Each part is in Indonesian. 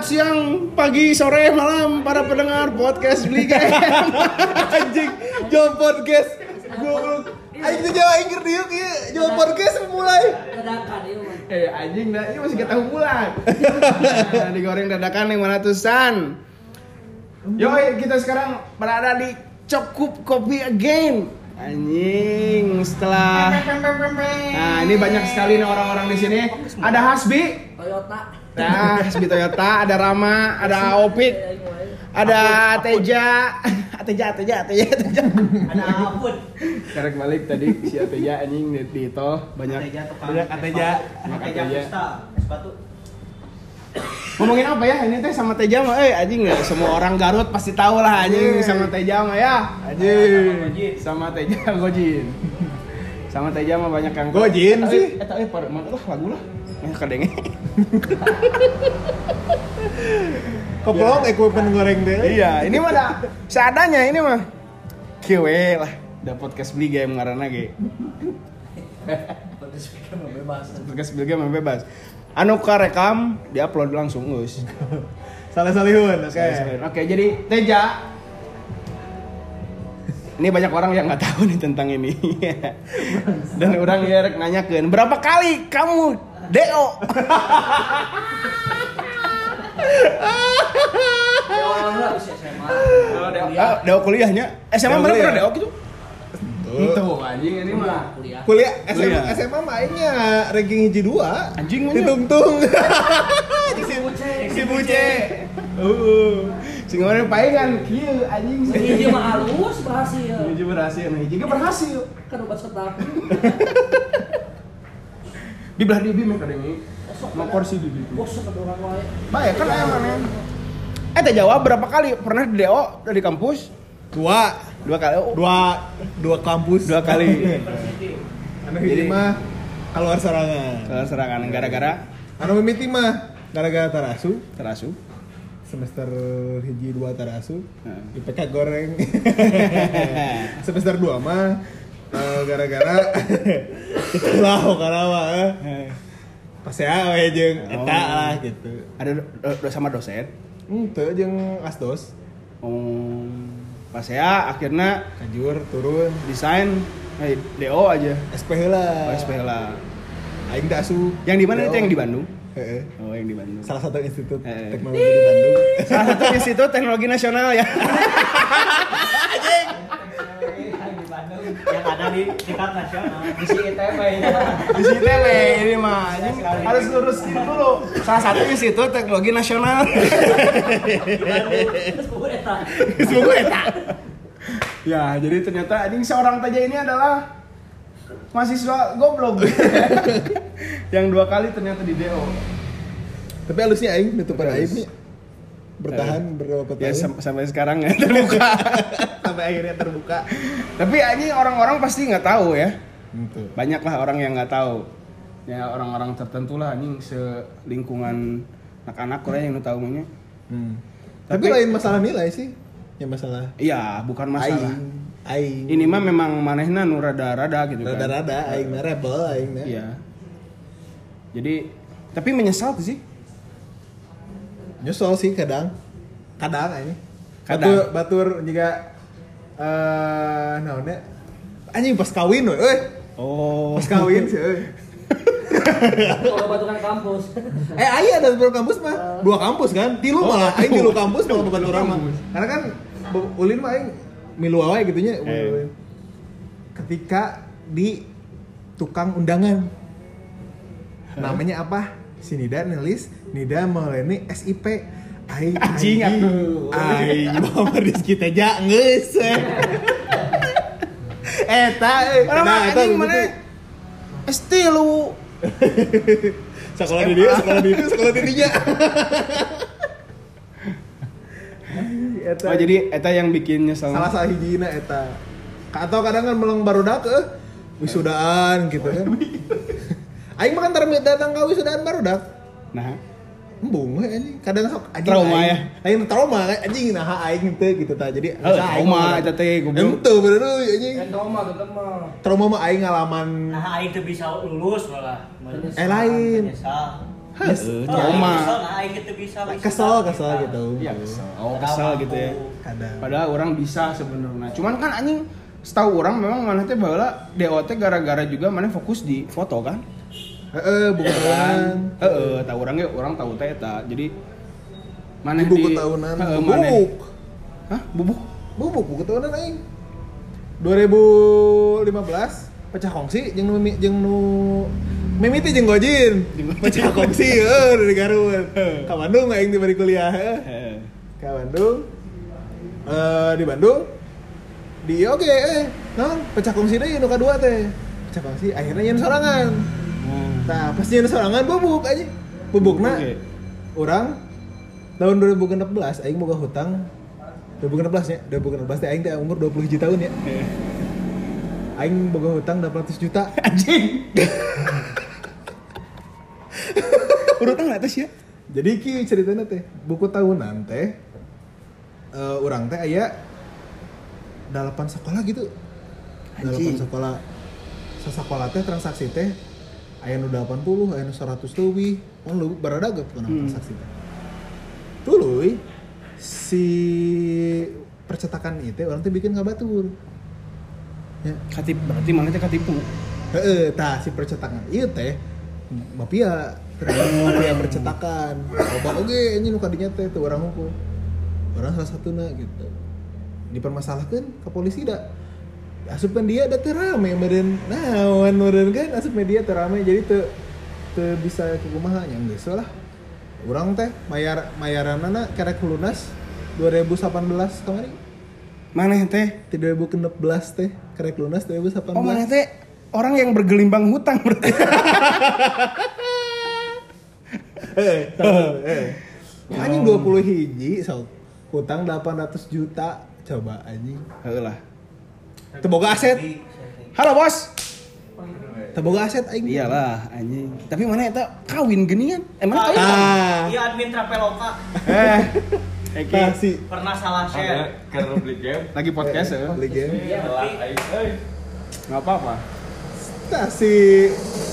siang, pagi, sore, malam para pendengar podcast Beli Game. Anjing, jual podcast. Goblok. Aing teh Jawa Inggris dieu kieu, jual podcast mulai. Dadakan ieu mah. Anjing dah, ini masih ketahu bulan. Digoreng dadakan yang mana tusan. Yoi, kita sekarang berada di Cukup Kopi Again. Anjing, setelah nah, ini banyak sekali nih orang-orang di sini. Ada Hasbi, Toyota. nah, Hasbi Toyota, ada Rama, ada Opik, ada Teja. Ada Ampun. Karek balik tadi si Ateja anjing di tol banyak Ateja. Sepatu. Ngomongin apa ya ini teh sama Teja mah anjing nggak semua orang Garut pasti tahu lah anjing sama Teja mah ya anjing sama Teja Gojin sama Teja mah banyak yang Gojin sih. Par mana lah lagu lah kadenge Koplong equipment goreng deh. iya ini mah dah seadanya ini mah kieu lah da podcast Beli Game ngaranna ge podcast Beli Game bebas anu karekam diupload langsung geus. Salah salihun. Oke, jadi Teja. Ini banyak orang yang nggak tahu nih tentang ini. Dan orang ya rek nanyakeun, berapa kali kamu DO? DO kuliahnya. SMA mana pernah DO gitu? Itu anjing ini mah Kuliah SMA mah aingnya ranking hiji 2. anjing mah Ditungtung. Si Buce. sing ngomong paengan kieu anjing sih. Hiji mah halus berhasil. Hiji berhasil, hiji ge berhasil. Kan obat setahun. Di belah di bim kadang ini. Mau kursi di bim. Bos orang wae. Bae kan aya mana? Teh jawab berapa kali pernah di DO dari kampus? Dua kali. Dua kampus. 2 kali. Anu hiji mah keluar serangan. Kalau serangan gara-gara Anu mimiti mah gara-gara tarasu. Semester hiji 2 tarasu. IPK goreng. Semester 2 mah gara-gara itulah karawa. Pas ya we jeung eta lah gitu. ada sama dosen. Teu jeung asdos. Pas ya akhirnya Kajur turun desain DO aja. SP heula. SP lah. Aing teh asup. Yang di mana itu yang di Bandung? Heeh. Oh, yang di Bandung. Salah satu institut Heeh. teknologi di Bandung. Salah satu institut teknologi nasional ya. Yang ada di tingkat nasional di si ITB. Di sini ini mah anjing harus lurus dulu. Salah satu institut teknologi nasional. Semoga eta. Ya, jadi ternyata anjing seorang Teja ini adalah mahasiswa goblok. Yang 2 kali ternyata di DO. Tapi halusnya aing nutupan aibnya. Bertahan berapa tahun? Ya sampai sekarang ya terbuka. Sampai akhirnya terbuka. Tapi anjing orang-orang pasti nggak tahu ya. Gitu. Banyak lah orang yang nggak tahu. Ya orang-orang tertentu lah anjing selingkungan anak-anak Korea yang tahu nya. Tapi lain masalah nilai sih. Ya masalah Iya, bukan masalah. aing. Ini mah memang manehna nu rada-rada gitu kan. Rada-rada aing mah rebel aing mah. Iya. Jadi tapi menyesal tuh sih. Nyesel sih kadang aing. Kadang. Batur juga naonnya anjing pas kawin we euy. Oh. Pas kawin sih euy. Kalau batukan kampus. Aya ada beberapa kampus mah. 2 kampus kan? 3 malah aing 3 kampus malah babaturan mah. Karena kan ulin mah aing milu wae gitunya. Ketika di tukang undangan. Namanya apa? Si Nida nulis Nida Mauleni SIP. Anjing atuh. Aing mah Rizky Teja geus. Eta Anjing mana? Esti lu. sekolah di dia, sekolah dirinya. Oh jadi eta yang bikin nyesel. Salah hijina eta. Atau kadang kan melang barudak wisudaan gitu kan. Aing mah kan datang ke wisudaan barudak. Nah, embung we anjing. Kadang sok anjing. Trauma ya? Aing trauma anjing nah aing teh gitu tah. Jadi trauma eta teh goblok. Ente bener anjing. Trauma tetep mah. Trauma mah aing ngalaman Nah, aing teu bisa lulus malah. lain. trauma. Kesel gitu. Iya, kesel gitu ya. Kadang. Padahal orang bisa sebenarnya. Cuman kan anjing setahu orang memang mana teh baheula DO teh gara-gara juga mana fokus di foto kan. Bukan. Tahu orang ge orang tahu teh eta. Jadi mana di buku tahunan. Bubuk. Hah? Bubuk buku tahunan aing. 2015 pecah kongsi jeung nu mimiti jeung Gojin. Pecah kongsi dari Garut. Ka Bandung aing di bari kuliah. Ka Bandung. Di Bandung. Di oke, non pecah kongsi deui nu kadua teh. Pecah kongsi akhirnya nyen sorangan. Nah, pas nyen sorangan bubuk aja. Bubukna urang tahun 2016 aing boga hutang 2016 nya. 2016 teh aing teh umur 20 tahun ya. Aing boga hutang 800 juta. Anjing. Urutang atas ya. Jadi ki ceritanya teh buku tahunan teh urang teh aya 8 sekolah gitu. 8 sekolah. Sasakola teh transaksi teh aya nu 80, aya nu 100 leuwih. Mun leuwih baradaga pun transaksi teh. Tuluy si percetakan itu orang teh bikin kabatur. Ya, Katip berarti mana teh katipu. tah si percetakan ieu teh mafia percetakan. Loba oge anjing nu kadinya teh teu urang hukum. Orang salah satuna gitu. Dipermasalahkeun ke polisi da. Asupan dia da teu rame meureun. Naon meureun kan asup media teu rame jadi teu bisa kumaha nya geus lah. Urang teh mayaranana karek lunas 2018 kamari. Maneh teh 2016 teh karek lunas 2018. Oh maneh teh orang yang bergelimbang hutang berarti. Anjing 20 hiji so. Hutang 800 juta coba anjing. Heulah. Teu boga aset. Halo bos. Teu boga aset aing. Iyalah anjing. Tapi mana eta kawin geuningan? Emang kawin? Iya admin Traveloka. Kasih Pernah salah share. Karena beli game. Lagi podcast ya. beli game. Iya, tapi Enggak apa-apa. Si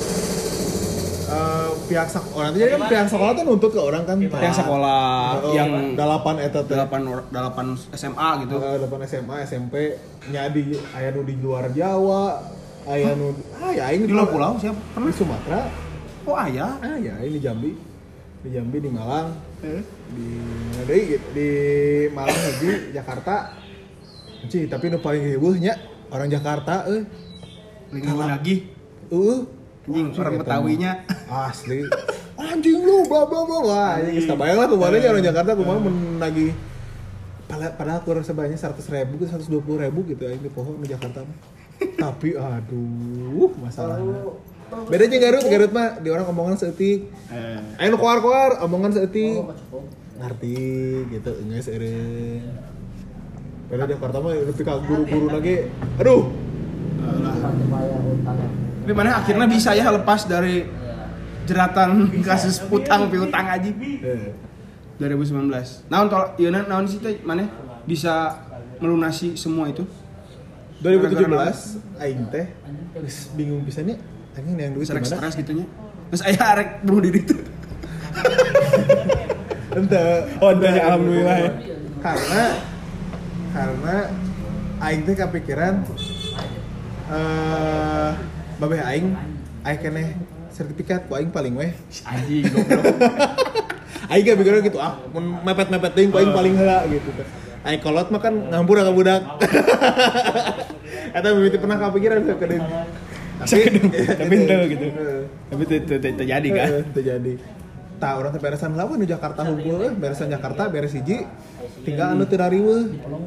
pihak sekolah nanti jadi kan pihak sekolah tuh nuntut ke orang kan Yang sekolah yang 8 eta teh 8 SMA gitu. 8 SMA SMP nya di aya nu di luar Jawa aya nu ya aing Di luar pulau siapa? di Sumatera Oh ayah. ya ini di Jambi di Malang di mana deui gitu di Malang hiji Jakarta Ci, tapi nu paling heueuh nya orang Jakarta Lagi. Anjing orang Betawinya. Asli. Anjing lu bla bla bla. Wah, ini geus kabayang lah kemarin orang Jakarta kumaha menagih padahal kurang sebanyak 100.000 ke 120.000 gitu aing di pohon di Jakarta mah. Tapi aduh, masalahnya. Beda jeung Garut mah di orang omongan seeutik. Aya nu koar-koar omongan seeutik. Ngarti gitu geus eureun. Beda Jakarta mah nepi ka guru-guru lagi. Aduh. Tapi mana akhirnya bisa ya lepas dari jeratan kasus utang piutang aja. 2019. Naon sih teh mana bisa melunasi semua itu? 2017 aing teh geus bingung pisannya anjing yang duit Stres gimana? gitu nya. Terus aya arek bunuh diri tuh. Ente. Ya, alhamdulillah ya. Karena aing teh kepikiran babeh aing keneh sertifikat ku aing paling weh. Anjing goblok. Aing kepikiran gitu mun mepet-mepet teuing ku aing paling heula gitu teh. Aing kolot mah kan ngampur ka budak. Eta mimiti pernah kepikiran ke deui. Tapi ente gitu. Tapi terjadi kan. Terjadi. Tah urang teh beresan lawan di Jakarta hungkul beresan Jakarta beres hiji tinggal anu teu dariweuh.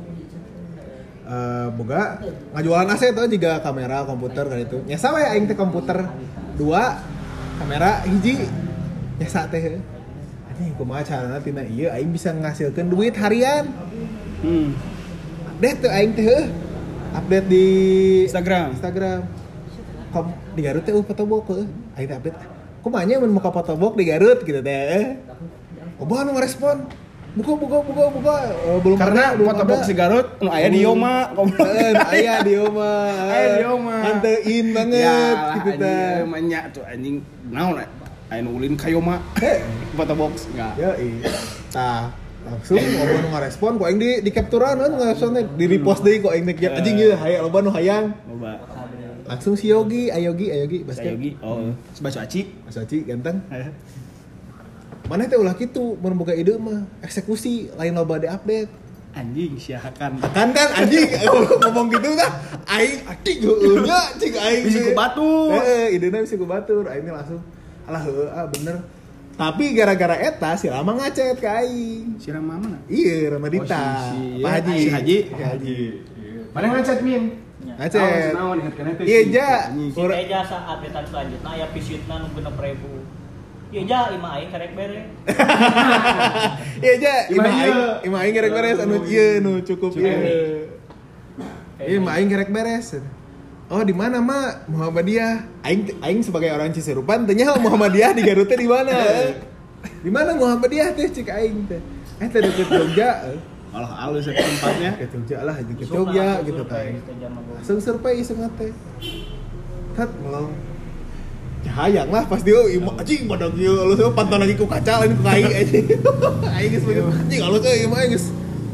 Boga ngajualan aset tuh juga kamera komputer kayak itu nyasa we aing teh komputer 2 kamera hiji nyasa teh anjing kumaha carana tina ieu aing bisa ngasilkeun duit harian update tuh aing teh update di Instagram di Garut teh fotobok aing teh update kumaha nya mun muka fotobok di Garut gitu teh Oba nu ngerespon buka belum karena fotobox si Garut nu aya di Yoma aya di Yoma Aya di Yoma. Anteuin banget ya, gitu teh anjing tuh anjing naon Ayo ulin kayoma. Foto box enggak. Ya tah langsung ngomong ngarespon kok aing di capturean kan ngarespon di repost deui kok aing teh anjing ieu hayang loba nu hayang. Loba. Langsung si Ayogi basket. Yogi. Oh, Basu Aci. Mas Aci ganteng. Mana teh ulah kitu mun boga ide mah eksekusi lain loba di update. Anjing siahakan. Kan anjing ngomong gitu tah aing atik heueuh nya cing aing. Bisa ku batur. Idena bisa ku batur. Aing langsung alah heueuh bener. Tapi gara-gara eta si Rama ngacet ke aing. Si Rama mana? Iya, Ramadita. Pak Haji. Si Haji. Mana ngacet Min? Ngacet. Naon ingetkeun teh. Iya, Ja. Si Teja saat updatean selanjutnya aya pisitna nu 6.000. Iya Ja, imah aing karek bere. Iya, Ja. Imah aing gerek beres anu ieu nu cukup ieu. Iya, imah aing gerek beres. Oh, di mana, Mak? Muhammadiyah. Aing sebagai orang Ciserupan tanya Muhammadiyah di Garut teh di mana? Di mana Muhammadiyah teh cik aing teh. Teh deket Jogja. Alah alus tempatnya. Ke Jogja lah, ke Jogja gitu teh. Langsung surprise teh. Kat melong. Hayang lah pas dia anjing badag ieu alus pantun lagi ku kaca lain ku kai anjing. Aing geus anjing alus euy mah geus.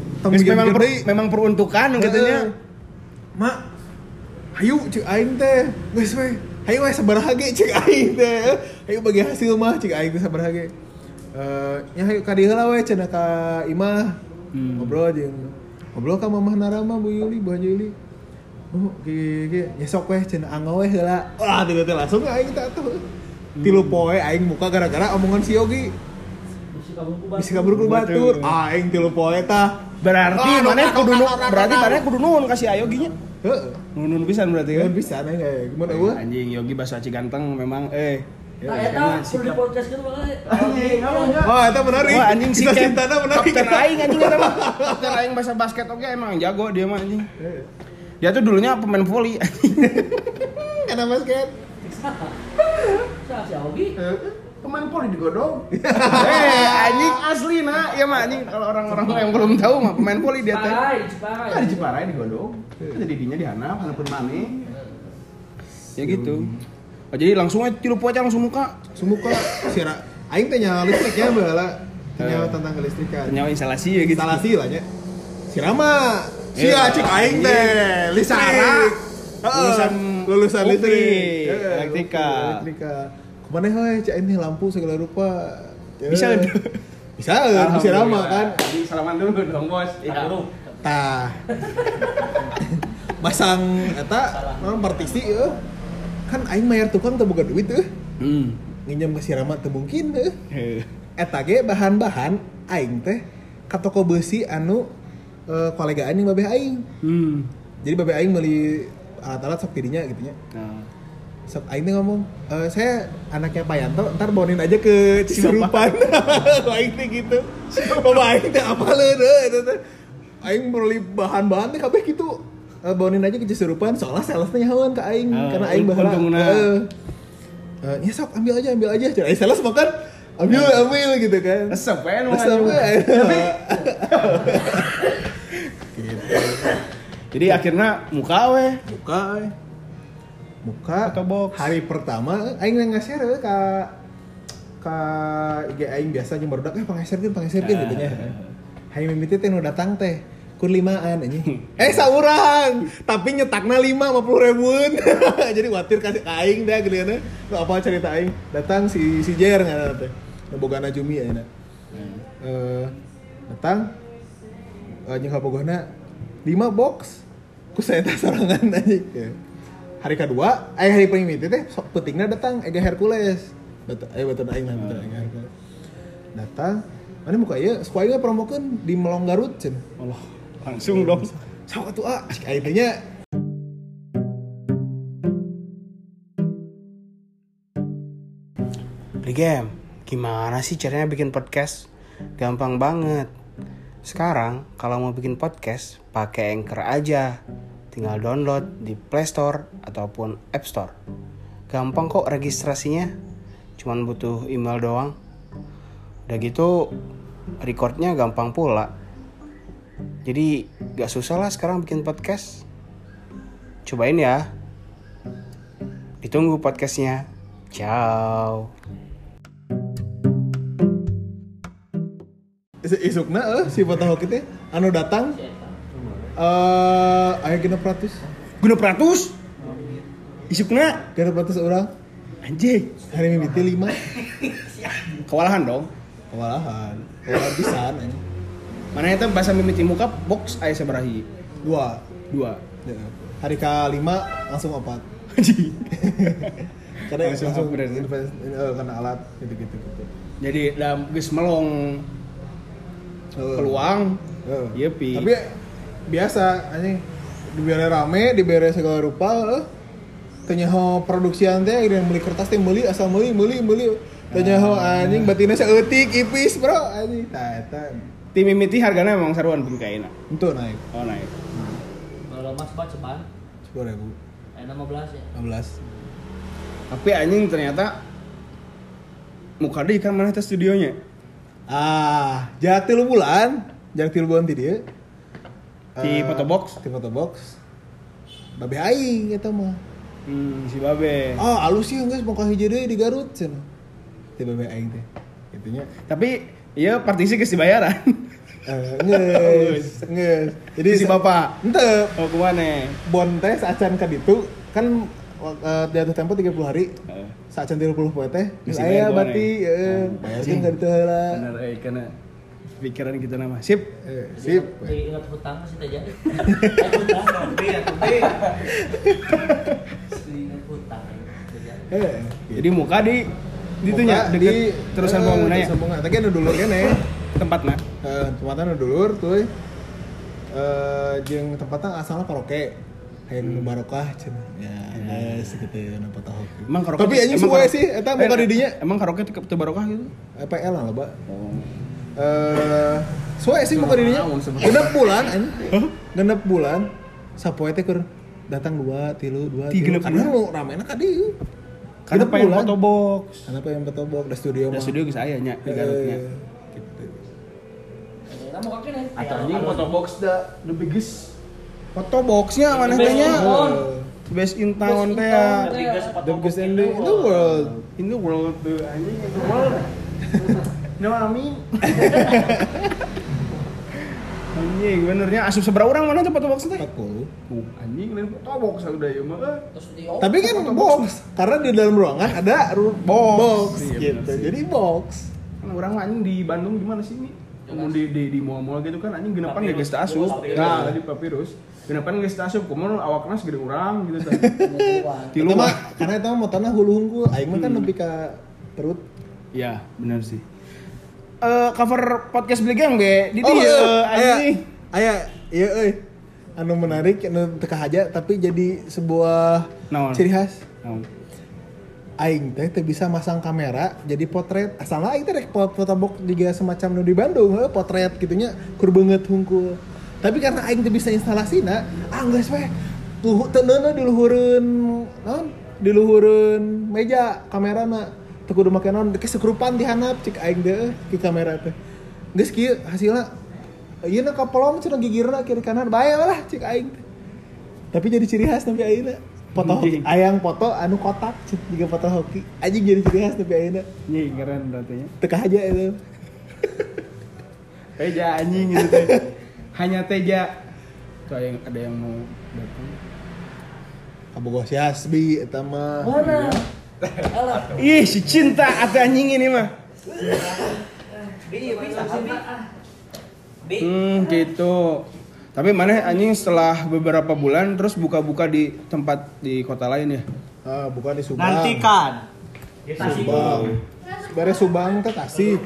Memang peruntukan gitu nya. Mak hayu cik aing teh geus we hayu we sabaraha ge cik aing teh hayu bagi hasil mah cik aing teh sabaraha ge nya hayu ka dieu heula we cenah ka imah ngobrol ka mamah Narama Bu Yuli Bu Haji Yuli ge nya sok we cenah anggo we heula wah tiba teh langsung aing teh atuh 3 poe aing muka gara-gara omongan si Yogi bisi kabur ku batur aing 3 poe tah Berarti mana kudu nuhun kasih Ayogi nya. Heeh. Nun pisan berarti kan? Nun pisan kayak gimana eueuh? Anjing Yogi Basu Aci ganteng memang Nah, eta perlu di podcast gitu banget. Oh, eta menarik. Wah, anjing si Cintana menarik. Kapten aing anjing eta mah. Kapten aing bahasa basket oke emang jago dia mah anjing. Dia tuh dulunya pemain voli anjing. Karena basket. Siapa si Augi? Pemain voli di Godong. Anjing asli nah, iya mah anjing kalau orang-orang yang belum tahu mah pemain voli dia teh. Di Ciparai di Godong. Jadi dinya di Hanap, Hanapeun maneh. Ya gitu. Oh, jadi langsung aja 3 poe langsung muka. Sira aing teh nyawa listriknya baheula. Nyawa tentang kelistrikan. Nyawa instalasi ya gitu. Instalasi lah nya. Sirama. Sia cik aing teh listrik. Lulusan listrik. Elektrika. Kemana heuh cik aing lampu segala rupa. Bisa Sirama kan. Salaman dulu dong, Bos. Iya. Tah. Masang eta non partisi eueuh. Kan aing mayar tukang teu boga duit teh. Nginjem ka Sirama teu mungkin teh. Eta ge bahan-bahan aing teh ka toko beusi anu kolegaan yang babeh aing. Jadi babeh aing meuli alat-alat sok didinya gitu nya. Sok aing teh ngomong, saya anaknya Pak Yanto, ntar bonin aja ke Cisurupan. Aing teh gitu. Bapak aing teh apaleun eta teh. Aing meuli bahan-bahan teh kabeh kitu. Bonin aja ke Cisurupan, soalnya salesnya nyahoan ke aing karena aing baheula. Ya sok ambil aja. Jadi sales makan ambil gitu kan. Resep we nu. Jadi akhirnya muka atau box. Hari pertama aing nge-share ka IG aing biasa jeung barudak pangeserkeun gitu nya. Hari mimiti teh nu datang teh kur 5an anjing. Saurang, tapi nyetakna 50.000-an. Jadi watir kasih ka aing dah gedeuna. Nu apa cerita aing? Datang si Jer ngaranna teh. Nu bogana Jumi ayeuna. Datang jeung kabogohna 5 box. Ku saya teh sorangan anjing. Hari kedua, hari primiti teh sok peutingna datang Ega Hercules. Betul aing lah betul Ega Hercules. Datang, mana muka ieu? Suku aing promokeun di Melong Garut cenah. Allah. Langsung dong. Sok atuh cik aing teh nya. Game, gimana sih caranya bikin podcast? Gampang banget. Sekarang kalau mau bikin podcast, pakai Anchor aja. Tinggal download di Play Store ataupun App Store. Gampang kok registrasinya. Cuman butuh email doang. Udah gitu recordnya gampang pula. Jadi gak susah lah sekarang bikin podcast. Cobain ya. Ditunggu podcastnya. Ciao. isukna si foto hoki teh anu datang aya 600 isukna 600 orang anjing hari mimiti 5 kewalahan dong kewalahan pisan anjing mana eta bahasa mimiti muka box aya sabarahi 2 2 hari ke-5 langsung 4 anjing karena langsung upgrade. karena alat gitu. jadi dalam geus melong peluang iya pi tapi biasa anjing dibere rame dibere segala rupa teu nyaho produksian teh geus meuli kertas teh meuli asal meuli teu nyaho anjing batina saeutik ipis bro anjing tah eta tim mimiti hargana memang saruan pun kaina itu naik oh naik Kalau mas bat cepat. 10.000 15 ya. 15 tapi anjing ternyata muka deui kan mana teh studionya jarak 3 bulan ti dieu di fotobox di fotobox babe aing eta mah si babe alus sih geus mau ka hiji deui di Garut cenah ti babe aing teh gitunya tapi iya partisi geus dibayaran nges jadi si bapak henteu oh kemana bon teh saacan ka ditu kan jatuh tempo 30 hari saacan 30 poe teh Geus aya dibayar berarti bayarkeun ka ditu heula bener karena pikiran kita nama sip sip Jadi ingat hutang masih tak jadi. Ingat hutang. Eh, jadi muka di ditunya muka deket terusan bangunannya terusan bangunan tapi anu dulur kene tempatnya tempatnya anu dulur tuh jeung tempatnya asalna karaoke hayang barokah cenah ya guys gitu anu foto hoki emang karaoke tapi anjing suwe sih eta muka di dinya emang karaoke teu barokah gitu PL lah loba suwe sih muka di dinya genep bulan anjing genep bulan sapoe teh keur datang 2 3 karena mau ramena ka dieu karena pengen foto box karena pengen foto box da studio da studio geus aya nya di Garutnya gitu Nah, mau kakek nih. atau anjing foto box the biggest foto boxnya mana teh nya best in town teh ya the biggest in the world in the world tuh anjing in the world no amin anjing benernya asup seberapa orang mana tuh foto box teh 40 anjing lain foto box udah ya mah Terus di tapi kan box karena di dalam ruangan ada box Iya, gitu bener sih. jadi box kan orang anjing di Bandung gimana sih ini di mall-mall gitu kan anjing genepan gak geus teu asup Papirus. nah di papirus genepan geus teu asup kumaha awakna segede urang gitu teh itu tilu mah mah karena itu mah tanah hulu hungkul aing mah kan nepi ka perut iya bener sih cover podcast beli gang be di dieu anjing aya iya euy anu menarik anu teu kahaja tapi jadi sebuah Naon? ciri khas naon aing teh teu bisa masang kamera jadi potret asalna aing teh rek foto box juga semacam nu di Bandung potret gitunya kur beungeut hungkul tapi karena aing teu bisa instalasina geus we teu neuneuh di luhureun meja kamerana teu kudu make naon ke sekrupan di handap cik aing teh ki kamera teh geus kieu hasilna ieu na kapolong cenah gigirna kiri kanan bae lah cik aing teh tapi jadi ciri khas tapi ayeuna foto hoki ayang foto anu kotak juga foto hoki anjing jadi ciri khas tapi ayeuna anjing keren berarti nya teu kahaja itu teja anjing gitu teh hanya teja tuh ada yang mau datang kabogoh si Hasbi eta mah mana? Alah. ih si cinta atuh anjing ini mah Bisa Bi. gitu tapi mana anjing setelah beberapa bulan terus buka-buka di tempat di kota lain ya bukan di Subang Nantikan. Subang beres Subang teh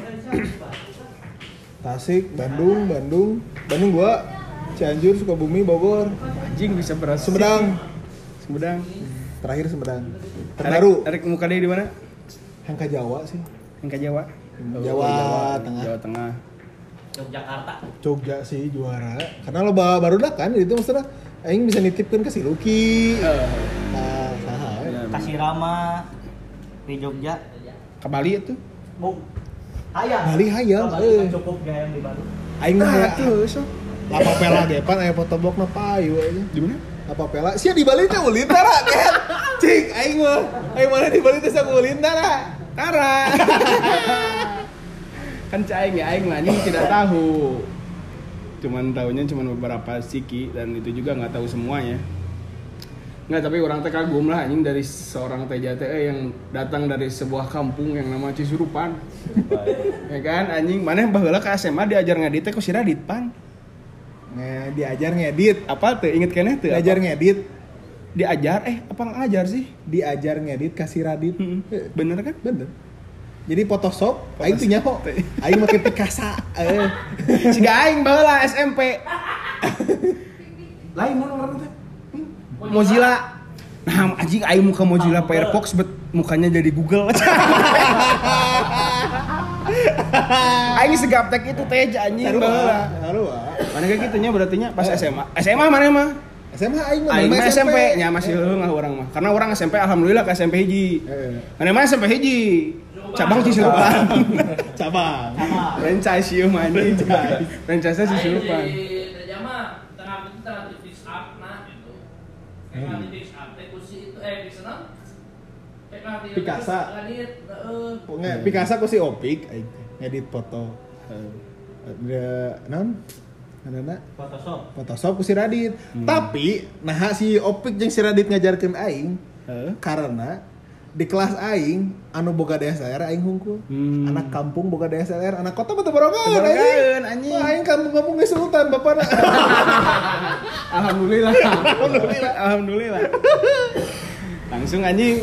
Tasik Bandung gua Cianjur Sukabumi Bogor anjing bisa beras Sumedang terakhir Sumedang terbaru Tarik muka dia di mana yang ke Jawa sih yang ke Jawa Jawa Tengah Jawa Tengah Yogyakarta. Jogja sih juara karena lo baru dah kan itu maksudnya aing bisa nitipkan ke si Lucky nah saha Kasih Rama di Jogja. ke Bali itu Bu. Hayang. Bali hayang Bali kan cukup gaya yang di Bandung. aing mah ya tuh so lapa pela depan aya fotobox na payu aja di mana lapa pela sia di Bali teh ulin tara kan cing aing mana di Bali teh sak ulin tara Tara Kan aing mah anjing tidak tahu. Tahunya beberapa siki dan itu juga nggak tahu semuanya. Nggak, tapi orang teh kagum lah anjing dari seorang TJTE yang datang dari sebuah kampung yang nama Cisurupan. Ya kan anjing, mana baheula ka SMA diajar ngedit teh ku si Radit pan. Diajar ngedit. Apa tuh? Inget keneh tuh? Diajar ngedit. Diajar apa ngajar sih? Diajar ngedit kasih Radit. Bener kan? Bener. Jadi Photoshop, aing tuh nyaho. Aing make Picasa. Siga aing baheula SMP. Lain mun teh. Mozilla. Nah, anjing aing muka Mozilla Firefox bet mukanya jadi Google. Aing segaptek itu teh anjing baheula. Mana kayak gitunya berarti nya pas SMA. SMA mana mah? SMA aing mah SMP nya masih leungah urang mah. Karena orang SMP alhamdulillah ke SMP hiji. Mana mah SMP hiji. Cabang Cisurupan. Cabang. Franchise ieu mah anjing. Franchise Cisurupan. Di mah tengah fix up nah gitu. Kayak fix up teh kursi itu di sana. Picasa. Heeh. Picasa ku si Opik aing ngedit foto. Ada naon? Adana Photoshop ku si Radit. Tapi nah si Opik jeung si Radit ngajarkeun aing karena di kelas aing anu boga DSLR aing hungkul. Anak kampung boga DSLR, anak kota mah teu borongan anjing. Aing kampung-kampung geus sultan bapana. Alhamdulillah. Langsung anjing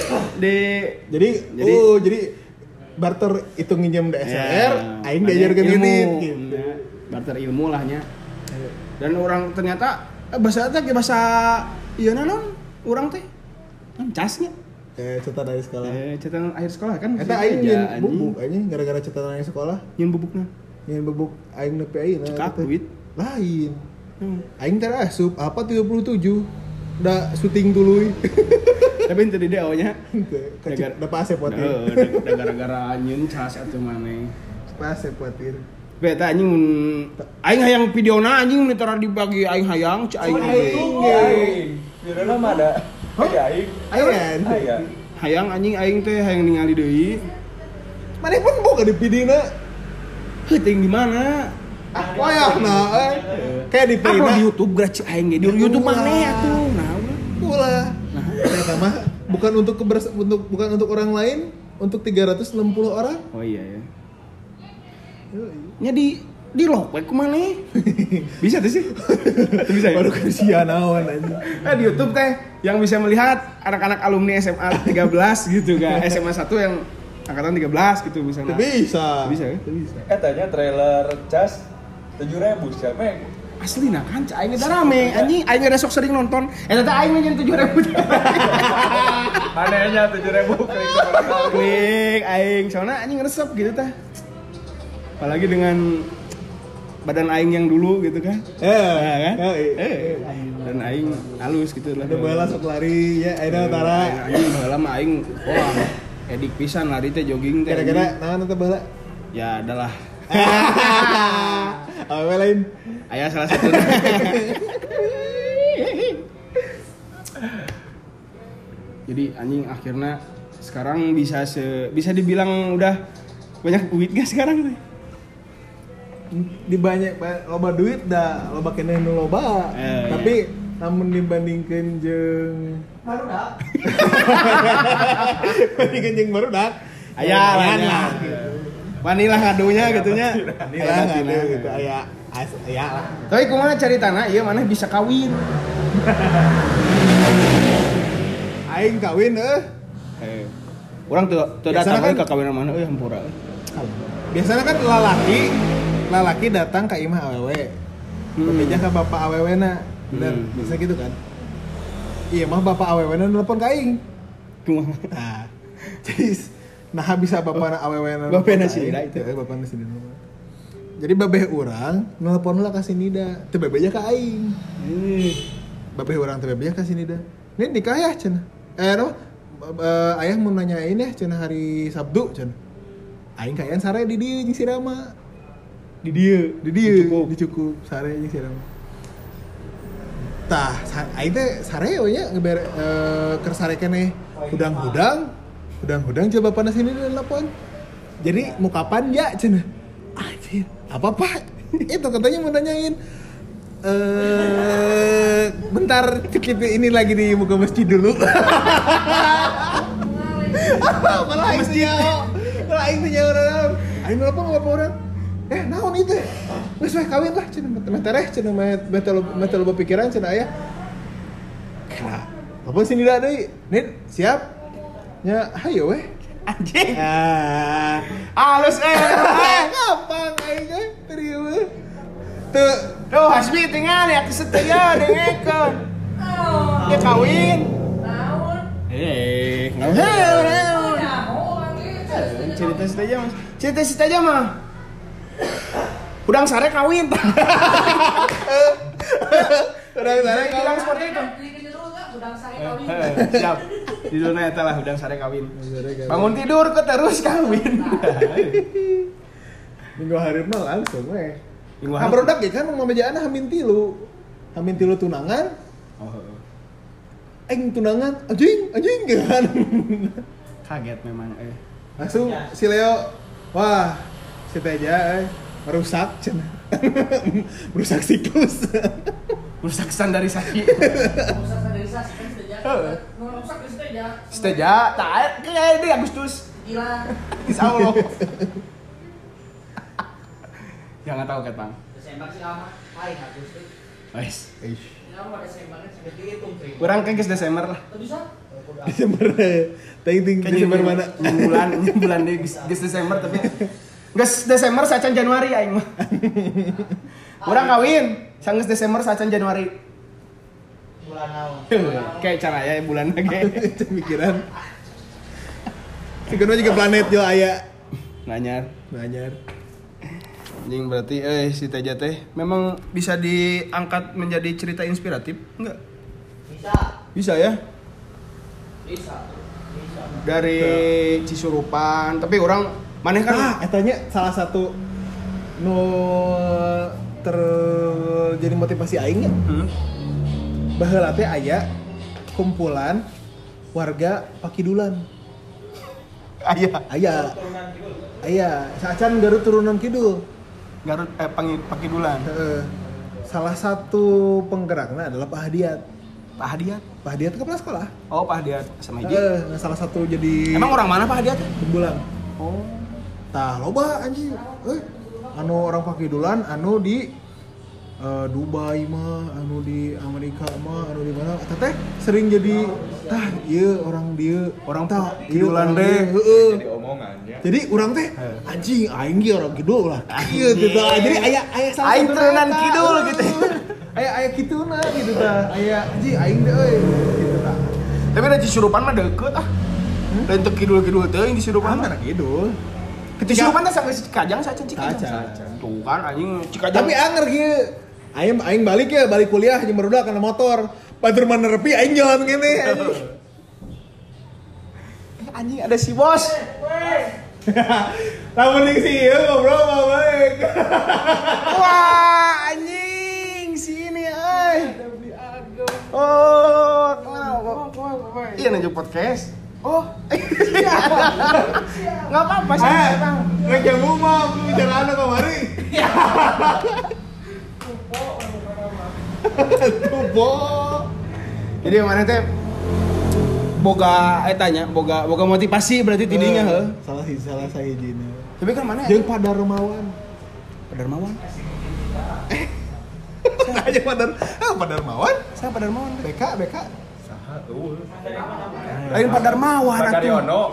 jadi barter itu nginjem DSLR, aing diajarkeun ngedit gitu. Barter ilmu lahnya. Dan orang ternyata bahasa ieu naon? Urang teh casnya. Catatan akhir sekolah. Catatan akhir sekolah kan. Eta aing nyeun bubuk anjing gara-gara catatan akhir sekolah. Nyeun bubukna. Nyeun bubuk aing nepi ayeuna. Cekak duit. Lain. Aing teh asup apa 37. Da syuting tuluy. Tapi ente di DO nya. Da pas potir. Da gara-gara nyeun cas atuh maneh. Pas potir. Beta anjing aing hayang videona anjing ditara dibagi aing hayang cai aing. Videona mah ada. Hayang anjing aing teh hayang ningali deui. Maneh pun boga di videona. Heuting di mana? Wayahna kayak di Upload di YouTube gratis aing ge. Di YouTube maneh atuh. Nah, ulah. Nah, eta mah bukan untuk orang lain, untuk 360 orang. Oh iya ya. Nya di lock bae kumaha? Bisa tuh sih? Tuh bisa ya? Baru kasihan naon anjing. Di YouTube teh yang bisa melihat anak-anak alumni SMA 13 gitu kan. SMA 1 yang angkatan 13 gitu misalnya. Bisa. Bisa ya? Bisa. Katanya trailer cas 7.000 siapa yang Asli nah kan aing teh rame anjing aing ada sok sering nonton. Eta teh aing nyen 7.000. anehnya 7.000 klik aing soalnya anjing resep gitu teh. Apalagi dengan badan aing yang dulu gitu kan. Kan? Dan aing halus gitu lah. Ada bola sok lari ya ayeuna utara. Anjing baheula mah aing wah edik pisan lari teh jogging teh. Kira-kira naon teh baheula? Ya adalah. Awewe lain. Aya salah satu. Jadi anjing akhirnya sekarang bisa dibilang udah banyak duit gak sekarang teh? Di banyak loba duit dah loba keneh nu loba. Tapi namun dibandingkeun jeung barudak. Bandingkeun jeung barudak. Aya lah. Wanilah ngadunya gitunya. Wanilah ngadu gitu aya lah. Tapi kumaha caritana ieu maneh bisa kawin. Aing kawin Urang teu datang kan, ka kawinan mana euy hampura. Biasanya kan lalaki datang ke imah awewe. Bebeja ka bapak awewena. Bener, biasa gitu kan. Iya mah bapak awewena nelpon ka aing. Kumaha? Nah, jadi bisa bapak awewena. Bapena si Nida itu. Bapana si Nida. Jadi babeh urang nelpon lah ka si Nida. Teu bebeja ka aing. Babeh urang teu bebeja ka si Nida. Ini nikah ya cenah. Ayah mau nanyain ya cenah hari Sabtu cenah. Aing kayaan sare di dieu jeung si Rama. Di dieu dicukup sare jeung si Rama. Tah, aing teh sare we nya keur sare keneh hudang-hudang coba bapana sini nelpon. Jadi mau kapan ya cenah? Anjir, apa Pak? Itu katanya mau nanyain. Bentar kita ini lagi di muka masjid dulu. Malah masjid. Malah intinya orang. Ayo ngapa orang? Naon itu? Geus we kawin lah cenah metereh cenah mete loba pikiran cenah aya. Kena. Apa sih nida deui? Nid, siap? Nya hayo weh. Anjing. Halus Gampang aing teh terieu we. Tuh Hasbi tinggal ya kesetia dengekeun. Dia kawin. Naon? Naon. Cerita Cerita aja mah. Udang sare kawin. Udang sare Bilang seperti itu. Udang sare kawin. Siap. Judulnya eta lah udang sare kawin. Bangun tidur ke terus kawin. Minggu hari mah langsung we. Minggu Nah, hari. barudak ya kan mamajana hamin tilu tunangan. Aing tunangan anjing kan. Kaget memang Langsung si Leo, wah si Teja merusak cenah. Merusak siklus. Rusak standarisasi. Rusak standarisasi kan saja. Rusak saja. Seteja, tak kayak di Agustus. Gila. Insyaallah. Jangan tahu kan, Bang. Desember sih lama. Hai Agustus. Wes. Lama pada Desembernya sudah dihitung. Kurang kan geus Desember lah. Tuh bisa? Desember. Ting Desember mana? Bulan di geus Desember tapi geus Desember sacan Januari aing mah. Urang kawin, sanggeus Desember sacan Januari. Bulan naon? Kayak cara ya bulan ge. Pikiran. Sikeun juga planet jo aya. Nanyar. Anjing Berarti si Teja teh memang bisa diangkat menjadi cerita inspiratif? Enggak? Bisa ya? Bisa. Dari Cisurupan, tapi orang maneh kan etanya salah satu nu terjadi motivasi aing nya. Baheula teh aya kumpulan warga Pakidulan. Aya. Sacan Garut turunan kidul. Garut Pakidulan. Salah satu penggeraknya adalah Pak Hadiat. Pak Hadiat kepala sekolah. Oh, Pak Hadiat sama Iji. Nah, salah satu jadi Emang orang mana Pak Hadiat? Tembulang. Oh. Tah loba anjing. Anu orang Pakidulan anu di Dubai mah, anu di Amerika mah, anu di mana? Eta teh sering jadi tah ieu orang dieu, orang tah Kidulan deh. Jadi omongannya. Jadi urang teh anjing aing ge orang kidul lah. Ieu gitu. Jadi aya salah Aing satu turunan eta. kidul gitu. Aya kituna gitu tah. Aya anjing aing teh euy gitu tah. Tapi da Cisurupan mah deukeut ah. Lain teu kidul-kidul teuing di Cisurupan mah. Kidul. Ke Cisurupan teh sanggeus Cikajang sacan Cikajang. Sacan. Tuh kan anjing Cikajang. Tapi anger kieu. Aing balik kuliah jeung barudak kana motor. Batur mana nepi aing jalan kene anjing. Anjing ada si bos. Lamun ning si ieu ngobrol mah baik. Wah, anjing sini euy. Oh, kemana? Iya nunjuk podcast. Oh, nggak apa-apa sih. Rek jamu mah bicara anu kamari. Tubo. Jadi mana teh boga etanya, boga motivasi berarti tidinya heuh. Salah sahijina. Tapi kan mana? Jeung Padarmawan. Padarmawan. Aja Padarmawan. Saya Padarmawan. BK. Saha eueuh. Lain Padarmawan atuh. Padaryono.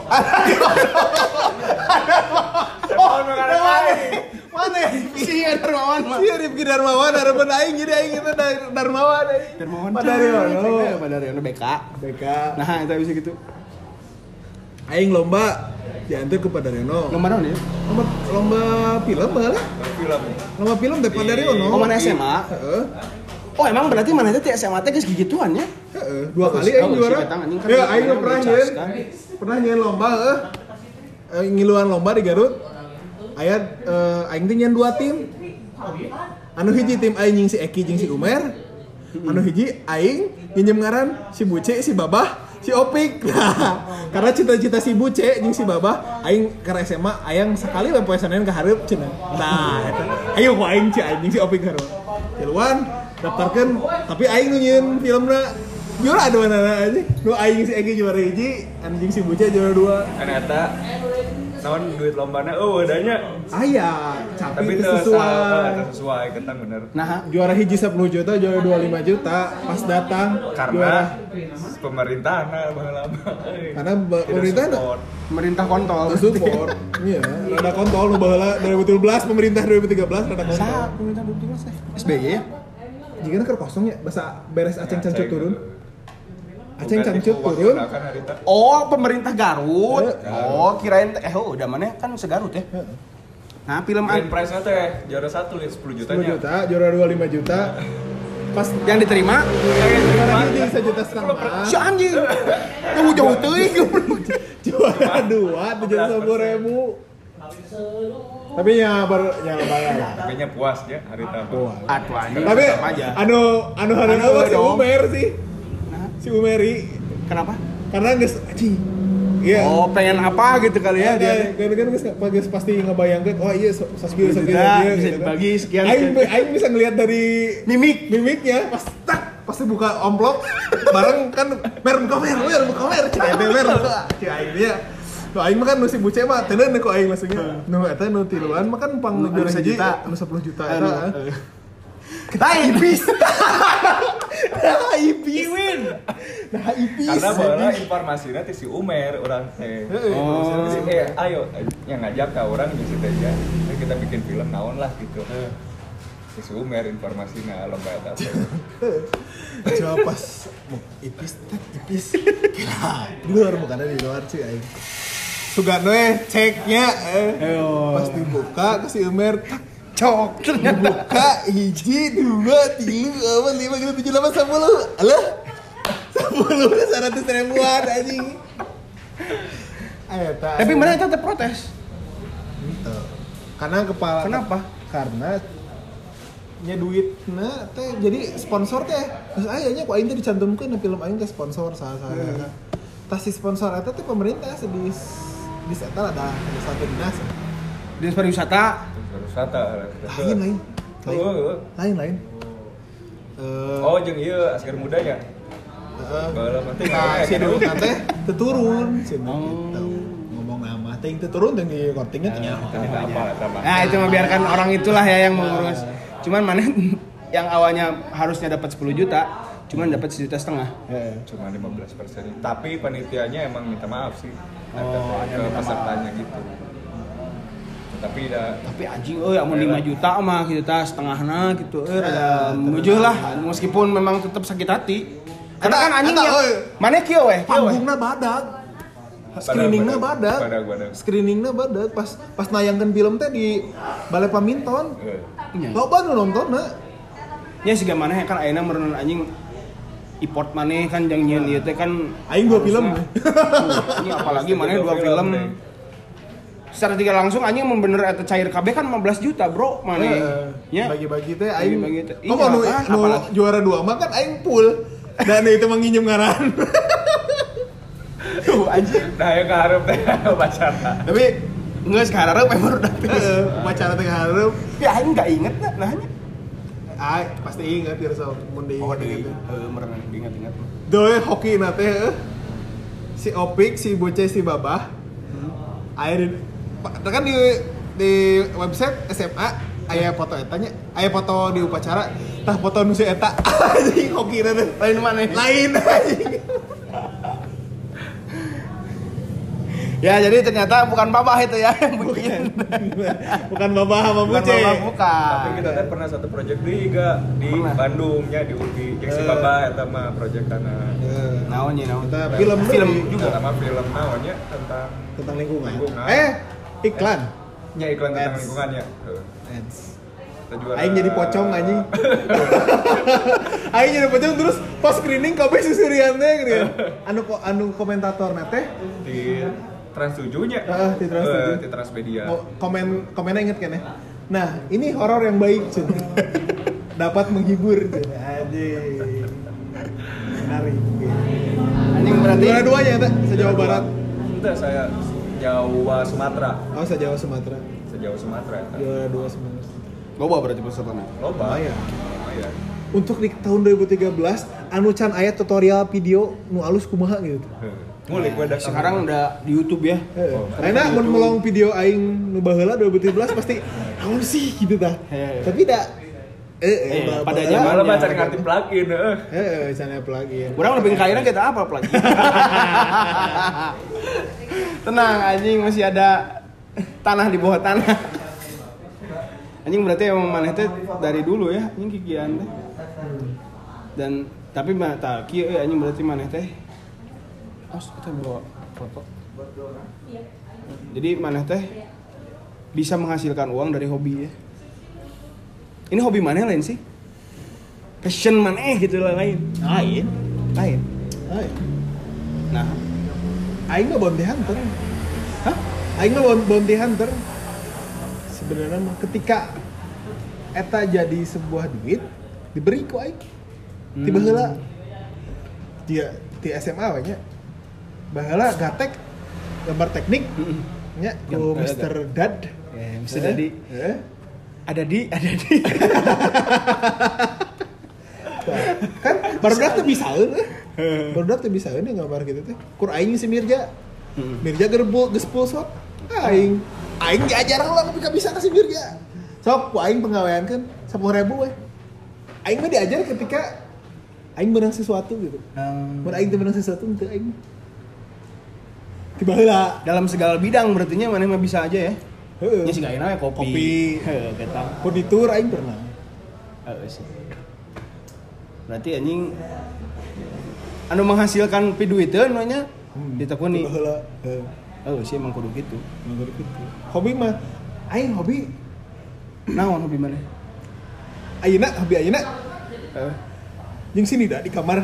Mana? Si Padarmawan mah. Si Rifki Darmawan harapan aing jadi aing itu Darmawan. Padarmawan. Padaryono BK. BK. Nah, itu bisa gitu. Aing lomba diantar ke Padaryono. Lomba naon ya? Lomba film lah. Film. Lomba film teh Padaryono. Oh, mana SMA? Heeh. Oh, emang berarti mana teh SMA teh geus gigituan ya? Heeh, 2 kali aing Oh, juara. si Betang anjing kan Ya, si aing Betang pernah ngecas, nyeun. kan? Pernah nyeun lomba ngiluan lomba di Garut. Aya aing teh nyeun 2 tim. Anu hiji tim aing jeung si Eki jeung si Umer. Anu hiji aing nginjem ngaran si Buce si Babah si Opik. Nah, karena cita-cita si Buce jeung si Babah aing ke SMA ayang sekali we poe Senin ka hareup cenah. Nah, eta ayo ku aing jeung si Opik hareup. Tiluan daftarkeun tapi aing nu nyieun filmna juara dua aja. Nu aing si Egi juara 1, anjing si Buce juara 2. Kan eta naon duit lombana wadahnya Aya, tapi itu itu sesuai. sesuai ketan bener. Nah, Juara hiji 10 juta, juara 25 juta pas datang Karena pemerintahan baheula mah. karena pemerintah pemerintah kontol. support. Iya, rada kontol nu baheula 2017 pemerintah 2013 rada kontol. Sa, pemerintah 2013 SBY ya? Jika keur kosong ya basa beres aceng cancut turun. Aceng Bukan cancut itu turun. wakilna kan harita. Oh, pemerintah Garut. Garut. Oh, kirain udah mana kan segarut ya. Nah, film Grand prize-nya teh juara 1 lihat 10 jutanya. 10 juta, juara 2 5 juta. Pas yang diterima juara hiji 1,5 juta. si anjing. Jauh-jauh teuing. Juara 2 750.000. Tapi ya baru yang bayar. Tapi nya puas ya harita. Puas. Atuh anjing. Tapi tetap aja. anu hareup si dong. Umer sih. Si Umeri Kenapa? karena geus anjing. Iya. Oh, pengen apa gitu kali ya dia. Kan geus pasti ngebayangkeun oh iya saskieu Bisa gitu. dibagi sekian. Aing bisa ngelihat dari mimiknya pas pasti buka amplop bareng kan mer buka cenah mer buka aing dia. Tuh aing mah kan nu si Buce mah teuneun ku aing maksudnya. Nu eta nu tiluan mah kan pang Nu juara 1 hiji juta. anu 10 juta eta. Ipis. Win. Nah, ipis. Karena baheula informasinya ti si Umer urang teh. Oh. Ayo yang ngajak ka urang jeung si Teja. Kita bikin film naon lah gitu. Si Umer informasinya lomba eta. Coba pas ipis. Gila. Di luar bukan di luar sih aing. Sugano ceknya pas dibuka ke si Umer Cok dibuka hiji 2 3 4 5 6 7 8 10 alah 10 100.000-an anjing. Tapi mana itu tetap protes. Gitu. Karena kepala Kenapa? Karena nya duitna teh jadi sponsor teh geus aya nya ku aing teh dicantumkeun na film aing teh sponsor saha-saha. Tas si sponsor eta teh pemerintah di eta ada satu dinas. Dinas pariwisata. Wisata. Lain. Oh jeung ieu asker mudanya. Baheula mah teh. Si dulu teh turun cenah gitu. Ngomong nama teh teu turun teh di kortingnya teh nyaho. Tidak apa eta mah. Nah, itu mah biarkan orang itulah ya yang mengurus. Cuman mana yang awalnya harusnya dapat 10 juta, cuman dapat 1,5 juta. Cuma 15%. Tapi panitianya emang minta maaf sih. Oh, ada ke minta pesertanya gitu. Tapi anjing amun 5 juta mah gitu tah setengahna gitu rada mujeuh lah meskipun memang tetap sakit hati. Karena kan anjingnya mana kieu weh? Panggungna badag. Screeningna badag. Screeningna badag pas nayangkeun film teh di Balai Paminton. Loba nu nontonna. Nya siga maneh kan ayeuna meureun anjing import maneh kan jeung nyieun ieu teh kan Aing 2 film. Ini apalagi maneh 2 film. Secara tidak langsung anjing bener eta cair KB kan 15 juta, Bro. Maneh. Ya. Bagi-bagi teh aing. Bagi-bagi teh. Oh, nu juara 2 mah kan aing full. Dan itu mah nginjem ngaran. Tuh anjing. nah ya kaharep teh pacaran. Tapi geus kahareup emang udah Upacara teh hareup. ya aing enggak inget nahnya. Pasti ingat ya so mun di. Oh, deui. Meureun diingat-ingat. Doe hoki na teh si Opik, si Buce, si Babah. Aya kan di website SMA aya foto etanya, aya foto di upacara, tah foto nu si eta. Anjing hoki na teh. Lain mana? Lain anjing. Ya jadi ternyata bukan Babah itu ya yang bikin. Bukan Babah sama Bukan Buce. Babah, bukan. Tapi kita teh pernah satu project di Pernah. Bandung nya di UPI. Jeung si Baba eta mah projectana. Naon nya naon. Kita Film Juga sama film naonnya tentang lingkungan. Lingkungan. Iklan. Nya iklan tentang Ads. lingkungannya. Ads. Kita juara. Aing jadi pocong anjing. Aing jadi pocong terus pas screening kabeh susurian teh gitu. Anu komentatorna teh di Trans 7-nya. di Trans 7. Di Transmedia. Komennya inget kan ya? Nah, ini horor yang baik, Cun. Dapat menghibur, Cun. Anjing. Menarik. Anjing berat Berarti juara 2-nya eta se-Jawa Barat. Enggak, saya Jawa Sumatera. Oh, se-Jawa Sumatera. Sejauh Sumatera. Juara 2 Sumatera. loba berarti pesertana. Loba. Lumayan. Lumayan. Untuk di tahun 2013 anu can aya tutorial video nu alus kumaha gitu. Ngulik Nah, sekarang udah di YouTube ya. Karena mun melong video aing nu baheula 2017 pasti naon sih gitu tah. Tapi da pada zamannya Malah mah cari ngerti plugin, sana plugin. Kurang lebih kaya kita apa lagi? Tenang anjing, masih ada tanah di bawah tanah. Anjing berarti emang maneh teh dari dulu ya anjing kikian teh. Dan tapi mah tah kieu anjing berarti maneh teh kita bawa foto. Jadi maneh teh bisa menghasilkan uang dari hobi ya. Ini hobi maneh lain sih? Passion maneh gitu lah lain. Lain. Nah, Aing mah bounty hunter. hah? Aing mah bounty hunter. Sebenarnya mah ketika eta jadi sebuah duit diberi ku aing. Tiba heula dia di SMA we nya. Baheula gatek gambar teknik nya ku Mr. Dad. Ya, bisa jadi. Ada di. Kan barudak teh bisaeun barudak teh bisaeun gambar gitu teh. Kur aing si Mirja. Mirja geus full sok. Aing diajar lah tapi bisa kasih Mirja. Sok ku aing penggaweankeun 10.000 we. Aing mah diajar ketika aing menang sesuatu gitu. Mun aing teu menang sesuatu teu aing. Tiba heula Dalam segala bidang berarti nya maneh mah bisa aja ya. Heeh. Nya siga ayeuna kopi. Heeh, eta. Furnitur aing pernah. Heeh sih. Berarti anjing anu menghasilkan piduiteun we nya ditekuni. Tiba heula. Heeh. Oh, sih emang kudu gitu. Hobi mah aing hobi Naon hobi maneh? hobi ayeuna Heeh. jeung sini dah di kamar.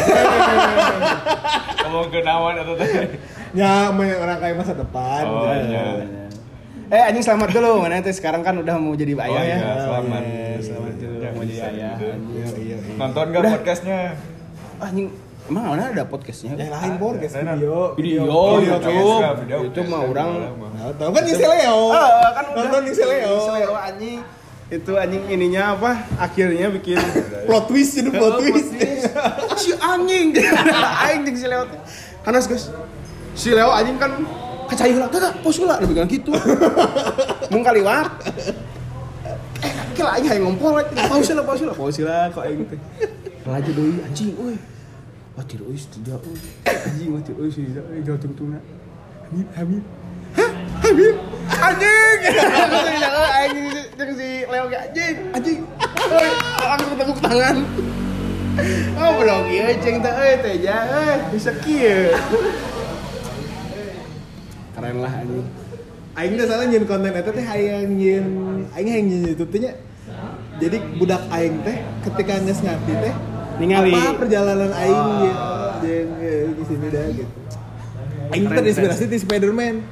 Ngomong ke nawan atau teh? Ya, orang kaya masa depan. Oh, iya. Anjing selamat dulu, mana teh sekarang kan udah mau jadi ayah ya. Selamat. Selamat dulu mau jadi ayah. Iya. Nonton gak Udah. podcastnya? Anjing, emang mana ada podcastnya? Yang lain podcast Ada. Video, YouTube. itu mah orang. Nah, tahu kan si Leo. Kan udah Nonton si Leo. Leo anjing. Itu anjing ininya apa? Akhirnya bikin Plot twist jadi plot twist. si anjing. Anjing si Leo. Hanas guys. Si Leo anjing kan kacai heula, tah pos heula lebih kan gitu. Mung kaliwat. Kira aing hayang ngompol, pause lah kok aing teh. Laju deui anjing euy. Wah tiru euy tidak euy. Anjing mah tiru euy tidak euy jauh tungtungna. Hamid. Hah? Hamid? Anjing. Anjing jeung si Leo ge anjing. Euy, langsung tepuk tangan. Oh, belum ieu ceng teh euy teh ja euy bisa kieu. Keren lah anjing. Aing teh salah nyeun konten eta teh hayang nyeun aing hayang nyeun YouTube teh nya. Jadi budak aing teh ketika geus ngarti teh Ningali apa perjalanan aing jeung di sini dah gitu. Aing terinspirasi di Spider-Man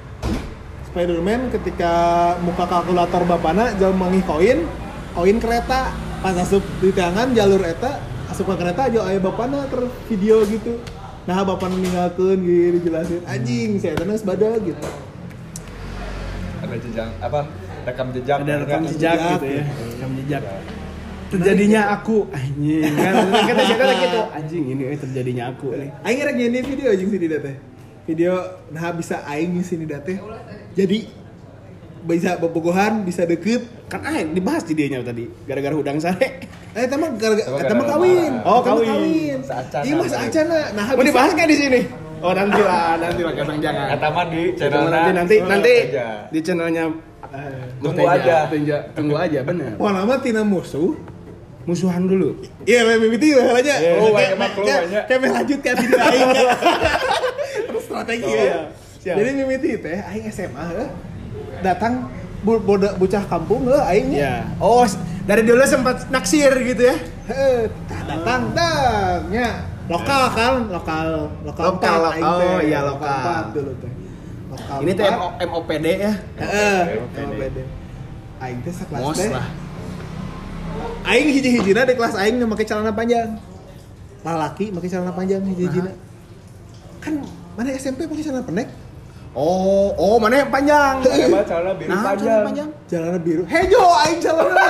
ketika muka kalkulator bapana jauh manggih koin kereta pas asup di tangan jalur eta asup ke kereta jauh aya bapana video gitu. Nah bapak ninggalkeun gitu dijelasin anjing saya tenas badag gitu. Ada jejak apa? Rekam jejak. ada rekam jejak gitu ya. Rekam jejak. Terjadinya aku anjing kan kita jaga gitu anjing ini terjadinya aku nih. Aing rek nyanyi video anjing sini teh. Video nah bisa aing sini teh. Jadi bisa bobogohan, bisa deket. Kan aing dibahas di dianya tadi gara-gara hudang sare. Eta mah kawin. Oh, kawin. Seacana. Iya mah seacana. Nah, Mau dibahas nggak di sini? Oh nanti lah kadang jangan. Kata mah di channel Nanti di channelnya Tunggu aja. Tunggu aja bener. Wah lama tina musuh. Musuhan dulu. Iya, mimiti lah aja. Oh, banyak. Kayak lanjut ke video aing. Terus strategi ya. Siap. Jadi mimiti teh aing SMA datang bocah kampung aing Ya. Oh, dari dulu sempat naksir gitu ya. datang nya lokal Lokal, aing oh, teh. iya, lokal. 4 dulu teh. Lokal Ini teh 4. MOPD ya. MOPD. Aing teh sakelas Mos teh. lah. Aing hiji-hijina di kelas aing make celana panjang. Lalaki make celana panjang hiji-hijina. Kan mana SMP pakai celana pendek? Oh, mana yang panjang? Emang celana biru panjang. Celana biru. Hejo aing celana.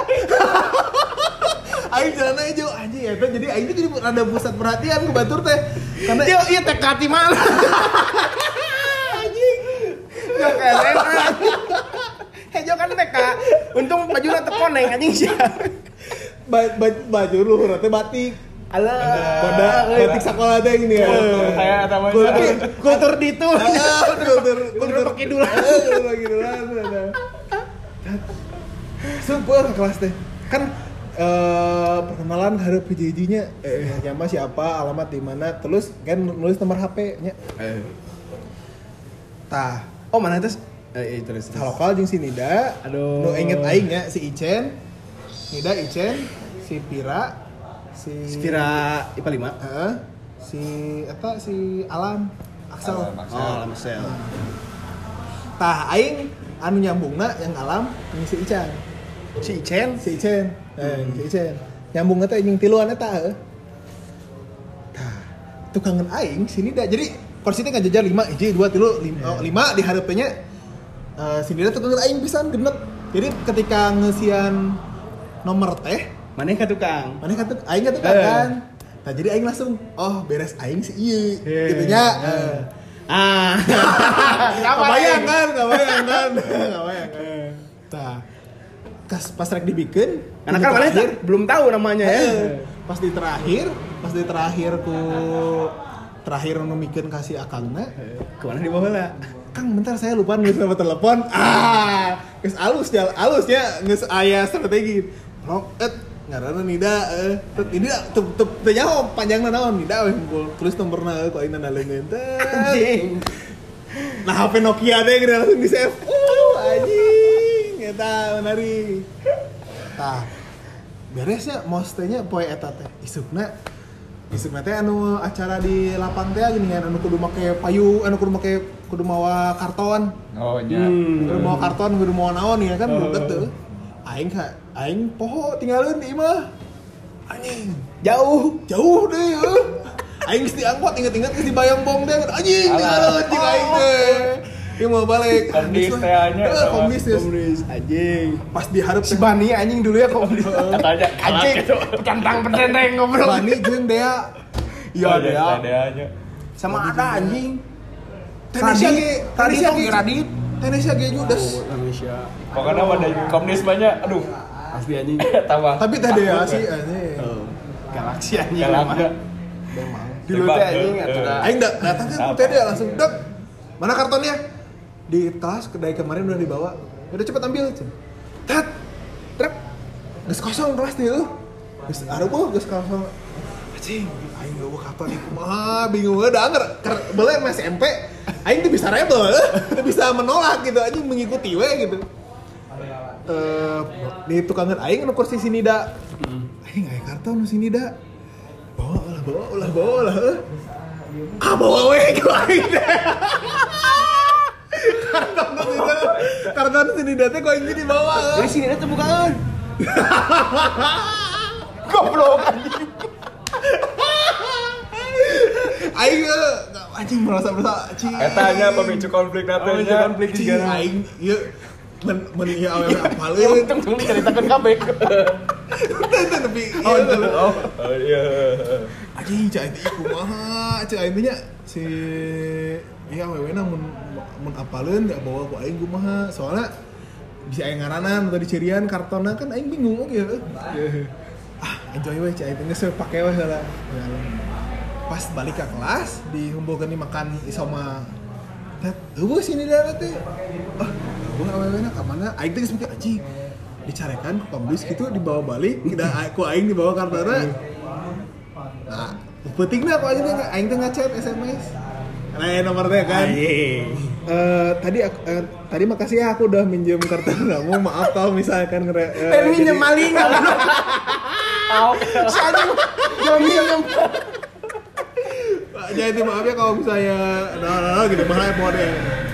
Aing celana hejo anjing ya. Jadi aing tuh jadi rada pusat perhatian ke batur teh. Karena Iya TK di mana? anjing. Ya keren. Hejo kan TK. Untung bajunya terkoneng anjing sih. Baju luhur teh batik. Alah. Pada batik sekolah teh gini ya. Kayak namanya. Kultur di itu. Kultur pakai dulu. Pakai dulu. Super ke kelas teh. Kan perkenalan hareup hiji-hijinya nama siapa, alamat di mana, terus kan nulis nomor HP-nya. Tah, Oh, mana itu? Terus. lokal jeung si Nida. Aduh. Nu inget aing nya si Icen. Nida, Icen, si Pira, si Spira IPA 5. Heeh. Si Alam, Axel. Oh, Lamsel. Tah aing anu nyambungna yang Alam jeung si Ican. Si Icen. Si Icen. Si Icen. Nyambungna teh jeung tiluan eta heuh. Tah, tukangan aing si Nida. Jadi kursi teh ngajajar 5, 1, 2, 3, 5 di hareupeunnya. Si Nida tukangan aing pisan genep. Jadi ketika ngeusian nomor teh, Mana yang tukang? mana kata aing kata kan. Nah, jadi aing langsung beres aing si ieu gitu nya. Kebayang kan. Tah. Pas rek dibikeun, Karena kan mana belum tahu namanya ya. Pas di terakhir nu mikeun kasih akangna. Kemana dibawa lah? Kang, bentar saya lupa nulis nomor telepon. Geus alus ya, geus aya strategi. Ngaranna Nida, ini teu nyaho panjangna naon Nida we tulis nomorna ku aing naleungeun teh. Anjing. Nah, HP Nokia teh geus langsung di-save. Anjing, eta menarik. Tah. Beresnya mos teh nya poe eta teh. Isukna teh anu acara di lapang teh gini kan anu kudu make payu, anu kudu mawa karton. Oh nya. Kudu mawa karton, kudu mawa naon ya kan buket teh. Aing poho tinggalin di imah. Anjing, jauh deh ya. Aing geus diangkot inget-inget geus di Bayambong teh. Anjing, tinggalin jeung aing teh. Dia mau balik. Komdis teh anya. Komdis. Anjing. Pas diharap Si Bani anjing dulu ya komdis. Katanya Anjing. Centang pendendeng ngobrol. Bani jeung Dea. Iya dia. Deanya. Sama ada anjing. Tadi Radit. Tenisnya ge judes. Indonesia. Pokoknya ada komdis banyak. Aduh. Asli anjing. Tambah. Tapi teh Dea sih anjing. Galaksi anjing. Galaknya. Memang. Dulu teh anjing atuh. Aing datang kan teh Dea langsung dek. Mana kartonnya? Di tas kedai kemarin udah dibawa. Udah cepet ambil. Tet. Trep. Geus kosong kelas teh. Geus arueuh geus kosong. Anjing, aing bawa karton ieu kumaha bingung da anger beuleung masih SMP. Aing teu bisa rebel, teu bisa menolak gitu anjing mengikuti we gitu. Di tukangan aing anu kursi si Nida. Aing aya karton si Nida. Bawa lah. Bawa we ku aing teh. Karton si Nida teh ku aing dibawa. Dari sini tuh bukaan. Goblok anjing. Aing anjing merasa anjing. Eta nya pemicu konflik datanya. Konflik Anjing, juga. aing ieu men ieu awewe apaleun. Untung tuh diceritakan kabeh. Tapi Iya. anjing cai teh kumaha cai aing nya si ieu awewena mun apaleun da bawa ku aing kumaha soalnya bisa aing ngaranan atau dicirian kartonna kan aing bingung oge heuh. Enjoy we cai teh geus pake we heula. Pas balik ke kelas dihumbukeun makan isoma. Eueuh sini da teh. Eueuh awewena ka mana? Aing teh geus mikir anjing. Dicarekan ku kampus gitu dibawa balik, ku aing dibawa kartona. Nah, pentingna aku aing teh ngechat SMS. Nah, nomor teh kan. Tadi makasih ya aku udah minjem kartu kamu. Maaf kalau misalkan Minjem maling. Si anjing jangan minjem. Jadi maaf ya kalau misalnya gitu mahal mau deh.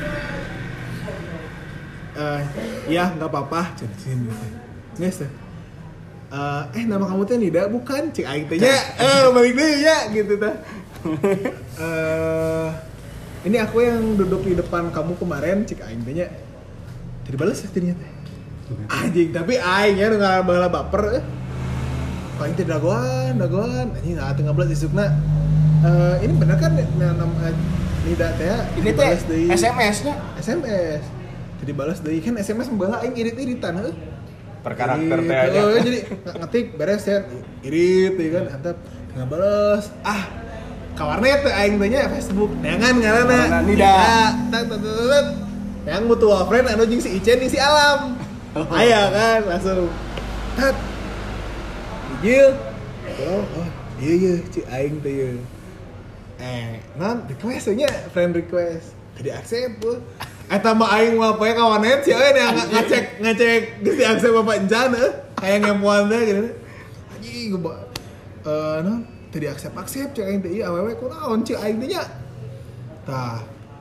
Ya nggak apa-apa. Cen yes. Nama kamu teh Nida bukan? Cik aing teh nya. Balik deui ya gitu teh. Ini aku yang duduk di depan kamu kemarin, cik aing tanya. Tidak balas ya ternyata. Anjing, tapi aing ya nggak bala baper. Paling tidak dagoan. Anjing nggak tengah belas isukna. Ini benar kan Nida teh Ini teh SMS-nya. SMS. Jadi balas deui kan SMS membalas aing irit-iritan heuh. Per karakter teh aja. Oh, jadi ngetik beres ya irit ya kan antep nggak balas. Kawarnet teh aing teh nya Facebook. Neangan ngaranna Nida. Tak. Yang mutual friend anu jeung si Icen jeung si Alam. Aya kan langsung. Tat. Dijil. Oh, iya cik aing teh ieu. Non request nya friend request. Tadi accept tuh. Eta mah aing mah poe kawanet sih ngecek geus di accept bapak encan kayak ngemuan teh gitu. Anjing non tadi accept cek aing teh ieu awewe kunaon cik aing teh nya. Tah.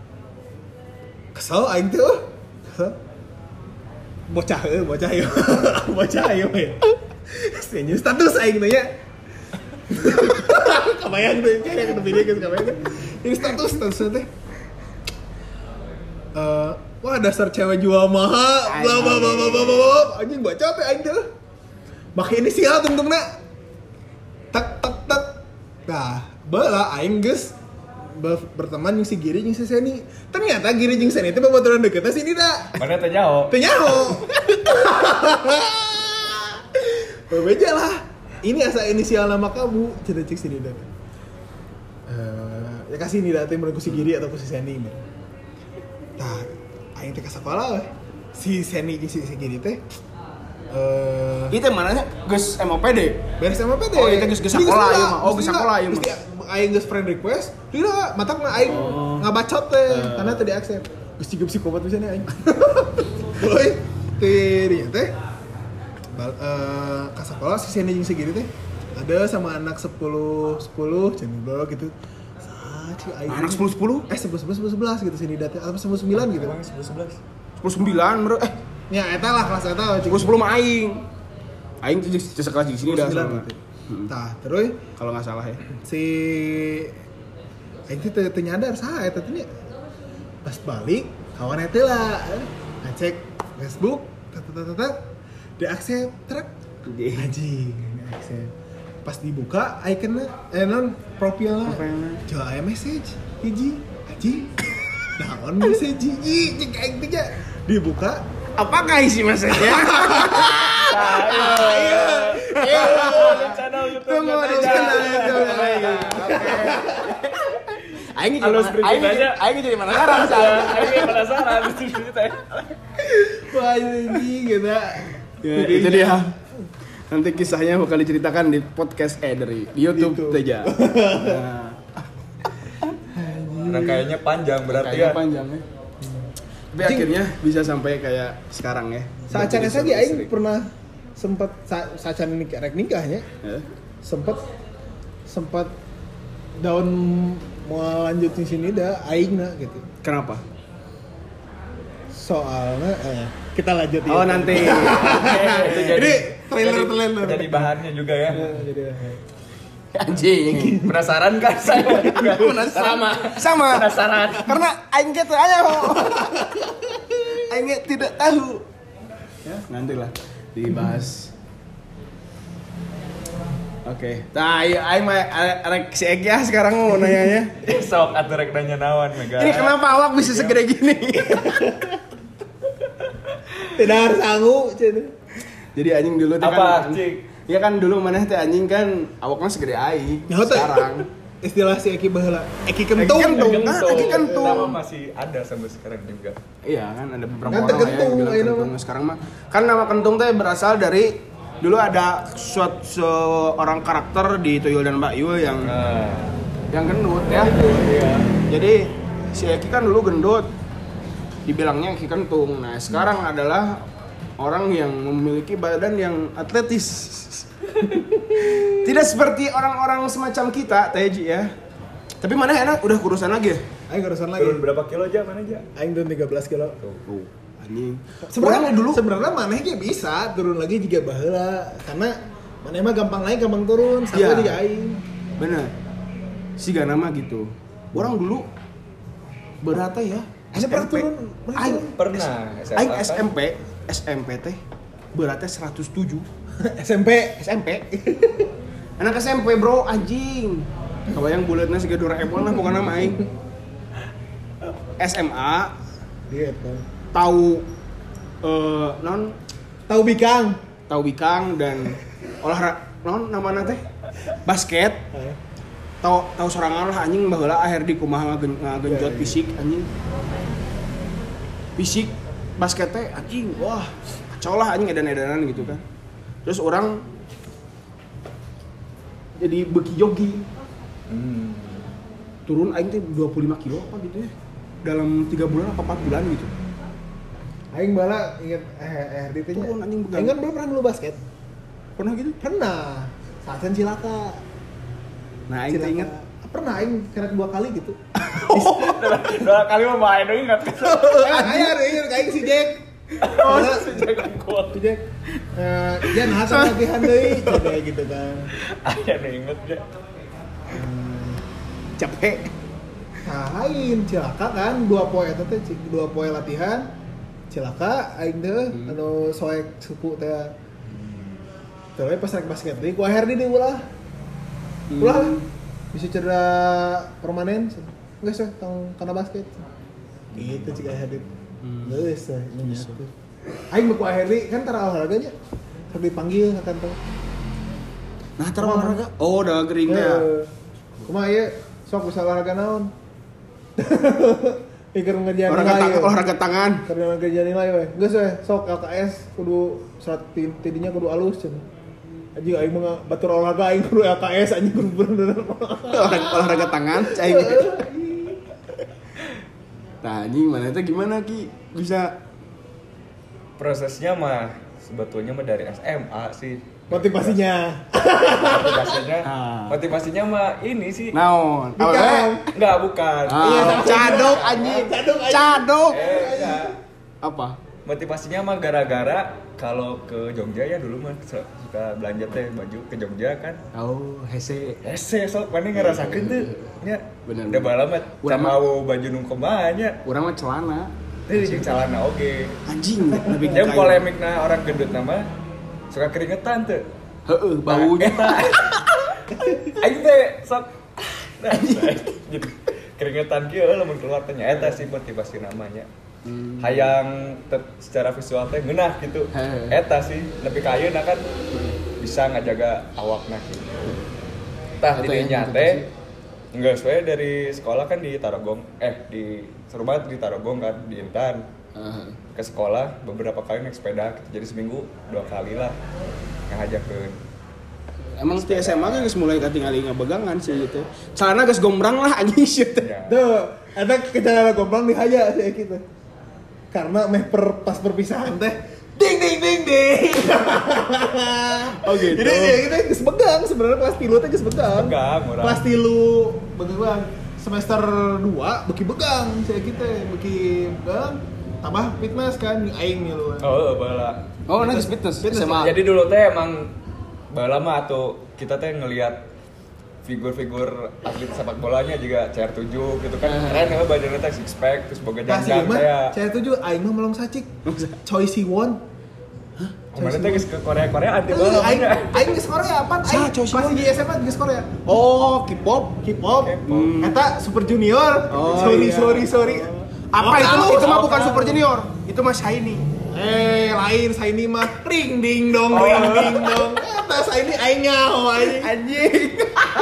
Kesel aing teh kesel. Bocah ieu. Bocah ieu ya. Senyum status aing teh nya. Kebayang tuh kayak ke video guys kebayang kan ini status teh wah dasar cewek jual mahal bla bla bla bla bla anjing baca teh aing teh make inisial tentungna tak nah bala aing geus berteman jeung si Giri jeung si Seni ternyata Giri jeung Seni teh babaturan deket si Nida Mana teh nyaho? Bebeja lah. Ini asa inisial nama kamu, cek sini dan. Ya kasih Nida teh menurut si Giri atau si Seni. Tah, aing teh ka sekolah we. Si Seni jeung si Giri teh Itu mananya geus MOPD. beres MPD. Oh, itu geus sekolah ieu mah. Oh, geus sekolah ieu mah. Aing geus friend request, tidak matakna aing ngabacot teh karena teh di-accept. Geus ciga psikopat pisan aing. Euy, teh teh ke sekolah si Seni jeung si Giri teh ada sama anak 10 cenah gitu. Anak 10 11 gitu sini data apa 9 gitu. 10 9 bro. Ya eta lah kelas eta 10 mah aing. Aing tuh sekelas di sini dah sama. Tah, terus Kalau enggak salah ya. si aing teh nyadar saha eta teh nya. Pas balik kawan eta lah ngecek Facebook di-accept truk anjing di-accept pas dibuka ikonnya non profilnya coba aya message hiji anjing naon message hiji cek aing teh dibuka Apakah isi message-nya? Channel YouTube. Tunggu di channel YouTube. Aing jadi mana sekarang Aing penasaran itu teh. wah ini gitu ya, itu dia. Nanti kisahnya bakal diceritakan di podcast di YouTube saja. Rangkaiannya panjang berarti Kayaknya ya. panjang ya. Tapi akhirnya bisa sampai kayak sekarang ya. sacan saja aing pernah sempat sacan nikahnya Ya. sempat daun mau lanjut di sini dah aingna gitu. Kenapa? Soalnya kita lanjut ya. Oh nanti. Itu Ini trailer. Jadi bahannya juga ya. Jadi Anjing, penasaran kan saya? Sama. Penasaran. Karena aing gitu aja. Aing tidak tahu. Ya, nantilah dibahas. Oke. Nah, aing mah arek si Egi sekarang mau nanya. Sok atuh rek nanya naon mega. Ini kenapa awak bisa segede gini? tidak harus sangu, Jadi anjing dulu tuh Apa, kan. Cik? Iya kan dulu maneh teh anjing kan awaknya segede aing. Sekarang istilah si Eki baheula. Eki kentung. Eki kentung. Nama masih ada sampai sekarang juga. Iya kan ada beberapa Kan orang ya kentung, yang bilang ayeuna kentung. Sekarang mah kan nama kentung teh berasal dari dulu ada seorang karakter di Tuyul dan Mbak Yul yang gendut ya. Iya. Jadi si Eki kan dulu gendut. Dibilangnya Eki kentung. Nah, sekarang adalah orang yang memiliki badan yang atletis. Tidak seperti orang-orang semacam kita, Teji ya. Tapi mana enak udah kurusan lagi ya? Aing kurusan lagi. Turun berapa kilo aja mana aja? Aing turun 13 kilo. Tuh, anjing. Sebenarnya maneh ge bisa turun lagi juga baheula karena maneh mah gampang naik gampang turun sama Iya. juga aing. Bener. siga nama gitu. Orang dulu berapa ya? Ada pernah turun? Pernah. Aing SMP teh beratnya 107. SMP. Anak SMP bro, anjing. Kebayang bulatnya si Doraemon lah bukan nama aing. SMA Gitu. tahu Tahu bikang. dan olahraga namanya teh basket. Tahu sorangan lah anjing baheula akhir di kumaha ngagenjot fisik anjing. Fisik basket teh anjing wah kacau lah anjing edan-edanan gitu kan. Terus orang jadi beki jogging. Turun aing teh 25 kilo apa gitu ya. Dalam 3 bulan apa 4 bulan gitu. Aing bala inget RDT nya. Turun anjing begal. Aing kan belum pernah dulu basket. Pernah gitu? Pernah. Saat cilaka. Nah, aing teh inget Pernah aing kena 2 kali gitu. 2 kali mah main dong enggak. Aya inget aing si Jack. Oh, jangan kuat. Si Jack. Ya nah latihan deui coba gitu kan. Aya nu inget ya. capek. Nah, lain cilaka kan 2 poe eta teh 2 poe latihan. Cilaka aing teh anu soek suku teh. Terus pas rek basket deui ku akhir di ulah. Ulah bisa cedera permanen. Enggak sih tong kana basket. Gitu cik akhir dit. Geus teh. Aing mah ku akhir di kan tara olahraganya. Sok dipanggil kan teh. Nah, tar olahraga. Oh, udah gering ya. Kumaha ieu? Sok bisa olahraga naon? Pikir ngerjain olahraga tangan. Karena ngerjain nilai we. Geus we, sok LKS kudu surat tidinya kudu alus cenah. Anjing aing mah batur olahraga aing kudu LKS anjing kudu bener. olahraga tangan cai. Nah, anjing mana itu gimana Ki? Bisa prosesnya mah sebetulnya mah dari SMA sih. Motivasinya motivasinya mah ini sih. naon? Enggak, bukan. Cadok anjing. Cadok. Enggak. Apa? Motivasinya mah gara-gara kalau ke Jogja ya dulu mah suka belanja teh baju ke Jogja kan. Oh, hese. Sok mana ngerasakeun teh nya. Bener. Udah bala mah mau baju nu kumaha nya. Urang mah celana. Teh jeung calana oge. Anjing, lebih Yang polemikna orang gendut nama suka keringetan tuh. Heeh, baunya. Aing teh sok gitu. Keringetan kieu lamun keluar teh eta sih motivasi namanya. Hayang secara visual teh ngeunah gitu. Eta sih lebih ka ayeuna kan bisa ngajaga awakna gitu. Tah di dinya teh geus we dari sekolah kan di Tarogong di Serubat di Tarogong kan di Intan. Ke sekolah beberapa kali naik sepeda gitu. Jadi seminggu 2 kali lah ngajakeun. Emang di SMA kan geus mulai katingali ngabegangan sih gitu. Celana geus gombrang lah anjing shit. Ya. Tuh, ada kejalan gombang di haja sih gitu. Karena pas perpisahan teh ding. Oh gitu. Jadi ya kita geus begang sebenarnya kelas 3 teh geus begang. Begang urang. Kelas 3 begang. Semester 2 beki begang saya kita beki begang tambah fitness kan aing milu. Oh, bala. Oh, nah fitness SMA. Jadi dulu teh emang bala mah atau kita teh ngelihat figur-figur atlet sepak bolanya juga CR7 gitu kan. Keren ya badannya teh six pack terus boga janjang teh. CR7 aing mah melong sacik. Choi Siwon. Kemarin teh geus ke Korea anti bala. Aing geus Korea apa? Aing masih di SMA geus Korea. Oh, K-pop. Kata Super Junior. Oh, Sorry. Apa itu mah bukan Super Junior. Itu mah Shiny. Lain Shiny mah ring ding dong. Kata Shiny aing nyaho anjing.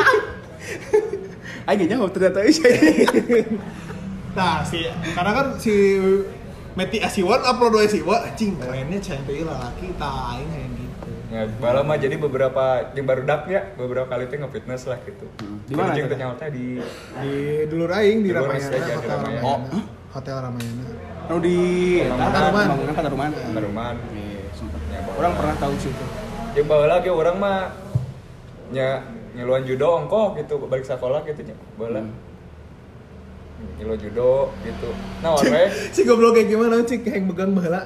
Aing nyaho ternyata Shiny. Nah, karena kan si Meti Asiwan upload Asiwa anjing kerennya cantik lalaki tah aing kayak gitu. Ya, bala mah jadi beberapa yang baru daknya beberapa kali teh nge-fitness lah gitu. Di mana? Jeung teh nyawa di Dulur aing di Dulur Ramayana, aja, di Hotel Ramayana. Ramayana. Hotel Ramayana. Oh di Pataruman. Taruman. Iya, orang pernah tahu situ. Jeung baheula ge urang mah nyeluan judo ongkoh gitu balik sekolah gitu nya. Baheula. Nyeluan judo gitu. Nah, we Si goblok kayak gimana cik yang megang baheula.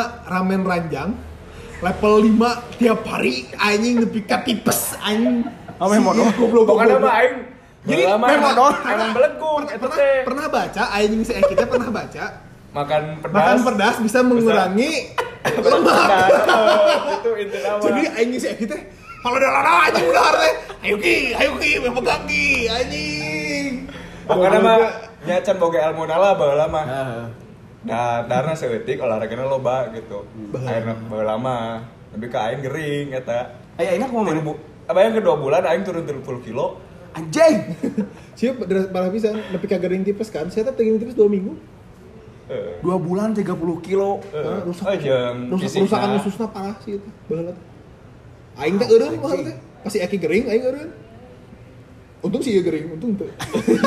Ramen ranjang level 5 tiap hari anjing nepi ka tipes anjing. modal. Pokoknya mah aing Jadi, lama modal. emang belenggu itu teh. Pernah baca aing si Eki teh pernah baca Makan makan pedas bisa mengurangi lemak. Itu inti nama. Jadi aing si Eki teh kalau udah lana anjing udah teh. Ayo ki, pegang ki anjing. Pokoknya mah nya can boga ilmu nala baheula mah. Nah, darna seutik olahragana loba gitu. Akhirnya baheula mah lebih ke aing gering eta. Enak mau mana? Apa yang kedua bulan aing turun 30 kilo. Anjing. Siap malah bisa nepi ka gering tipes kan. Saya teh gering tipes 2 minggu. 2 bulan 30 kilo. Rusakan ususna parah sih itu. Baheula. Aing teh eureun mah teh. Pasti Eki gering aing eureun. Untung sih ya gering, untung tuh.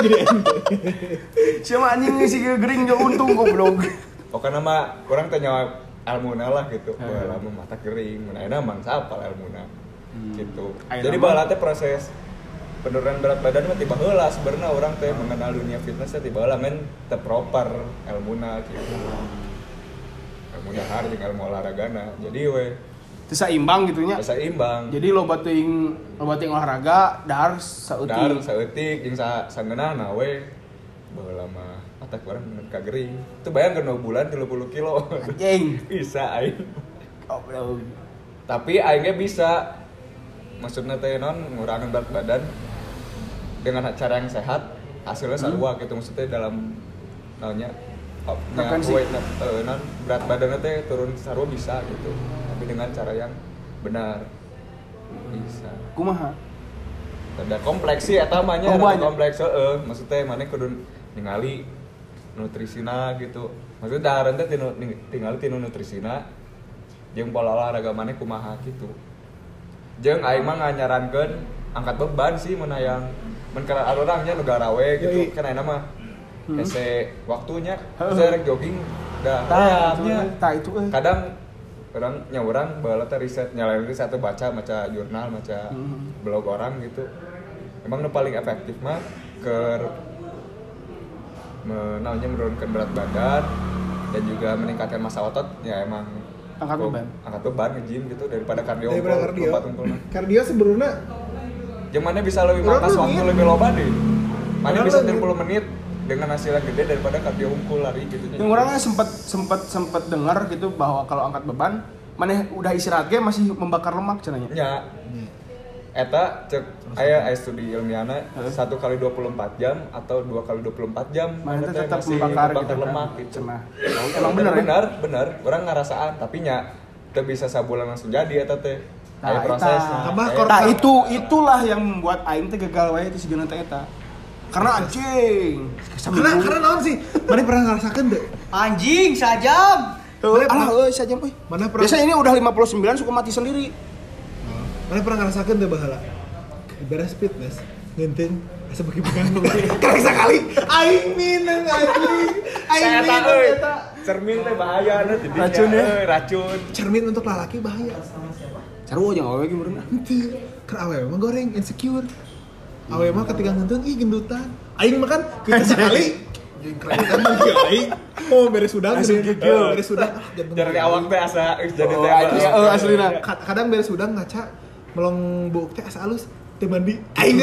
Siapa anjing sih gering gak untung goblok. Pokoknya mah orang tanya ilmuna lah gitu. Baheula mah mata gering, mun ayeuna mah sapal ilmuna. Gitu. Jadi baheula teh proses penurunan berat badan mah tiba heula sebenarnya orang teh mengenal dunia fitness teh tiba heula men teu proper ilmuna gitu. Ilmu dahar jeung ilmu olahragana. Jadi we Terus seimbang gitunya. seimbang. Jadi lo bating olahraga dahar saeutik. Dahar saeutik jeung sangeunahna we baheula mah atak urang bener ka gering. Itu bayangkeun 2 bulan 30 kilo. Anjing. Bisa aing. Goblok. Tapi aingnya bisa maksudnya teh non ngurangin berat badan dengan cara yang sehat hasilnya sarua gitu maksudnya dalam naonnya non berat badannya teh turun sarua bisa gitu tapi dengan cara yang benar bisa Kumaha? ada kompleks sih eta mah nya kompleks maksudnya mana kudu ningali nutrisina gitu maksudnya dahareun teh tinggal tinu nutrisina jeung pola olahraga mana kumaha gitu jeung aing mah nganyarankeun angkat beban sih mun hayang mun kana orangnya nu garawe gitu kan ayeuna mah hese waktunya saya rek jogging dah Tah itu kadang orang nyawurang baheula teh riset nyalain riset teh baca jurnal maca blog orang gitu emang nu paling efektif mah keur menurunkan berat badan dan juga meningkatkan massa otot ya emang angkat beban nge-gym gitu daripada kardio kardio sebenarnya yang mana bisa lebih matas waktu lebih loba deh mana bisa 30 menit dengan hasil yang gede daripada kardio unggul lari gitu yang orangnya sempat dengar gitu bahwa kalau angkat beban mana udah istirahat ge masih membakar lemak cenanya ya eta cek aya studi ilmiahna 1 kali 24 jam atau 2 kali 24 jam mana tetap membakar gitu lemak gitu. Emang bener orang ngerasaan tapi nya teu bisa sabulan langsung jadi eta teh aya prosesnya itulah yang membuat aing teh gagal wae teh sigeuna teh eta karena anjing karena naon sih mana pernah ngerasakeun teu Anjing sajam. Sajam euy. Mana pernah Biasanya ini udah 59 suka mati sendiri. Mana pernah ngerasakeun teu baheula beres fitness ngeunteung asa bagi pegang kali sekali aing mineng anjing aing mineng eta cermin teh bahaya tidinya racun cermin untuk lalaki bahaya Carwo jeung awewe ge meureun. henteu keur awewe mah goreng insecure awewe mah ketika ngeunteung ih gendutan aing mah kan kita sekali jeung kerekan lagi aing beres udang beres udang dari awak teh asa jadi teh Aslina. kadang beres udang ngaca melong buuk teh asa alus teh mandi aing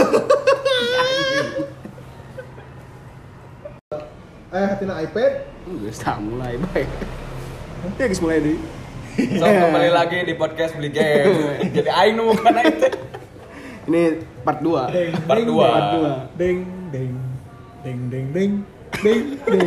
hatina iPad Geus mulai bae. Ya geus mulai deui. So kembali lagi di podcast Beli Game. Jadi aing nu bukan itu. Ini part 2. Part 2. Deng deng deng deng deng deng deng.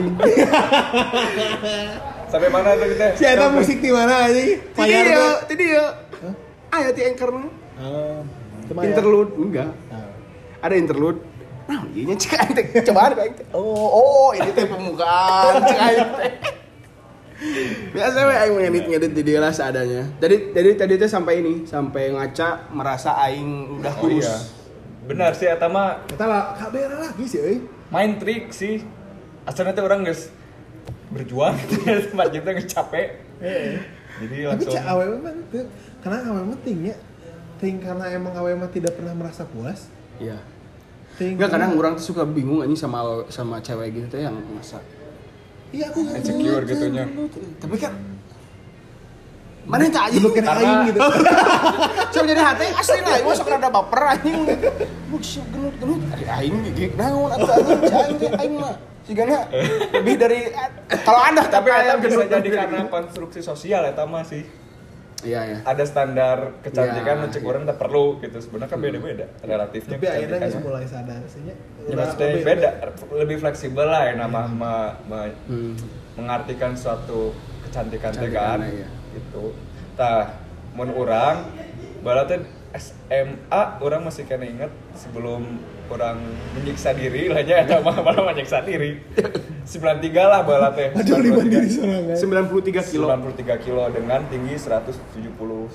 Sampai mana tuh kita? Si eta musik di mana anjing? Tadi ya. Aya ti anchor mah. Interlude enggak. Ada interlude. Nah, ieu nya cek aing teh cobaan aing teh. Oh, ini teh pembukaan cek aing teh. Biasa we aing ngedit di dia lah seadanya. Tadi teh sampai ngaca merasa aing udah kurus. Iya. Benar sih eta mah Eta lah kabeh lagi sih euy. main trik sih. Asalnya teh orang geus berjuang gitu ya tempat kita geus capek. Jadi Tapi langsung cak awewe mah teu karena awewe mah ting karena emang awewe mah tidak pernah merasa puas. Iya. Enggak Kadang orang tuh suka bingung anjing sama cewek gitu teh yang masa. Iya aku insecure gitunya. Tapi kan Mana tak aja Gelut kena Karena- aing gitu. so jadi hati asli lah masuk rada baper anjing bukan genut aing gigit naon atuh aing mah sigana lebih dari kalau ada tapi eta bisa genut jadi karena konstruksi sosial eta mah sih. iya Ada standar kecantikan Iya, nu cek iya. urang teh perlu gitu. Sebenarnya kan beda-beda relatifnya Tapi akhirnya kecantikan. geus mulai sadar sih nya. Ya, maksudnya beda, lebih fleksibel lah ya nama Hmm. mengartikan suatu kecantikan teh Kecantikan, kan iya. gitu. Tah, mun urang bala teh SMA orang masih kena inget sebelum orang menyiksa diri lah nya eta mah malah menyiksa diri. 93 lah bala teh. Aduh liban diri sorangan. 93 kilo 93 kilo dengan tinggi 170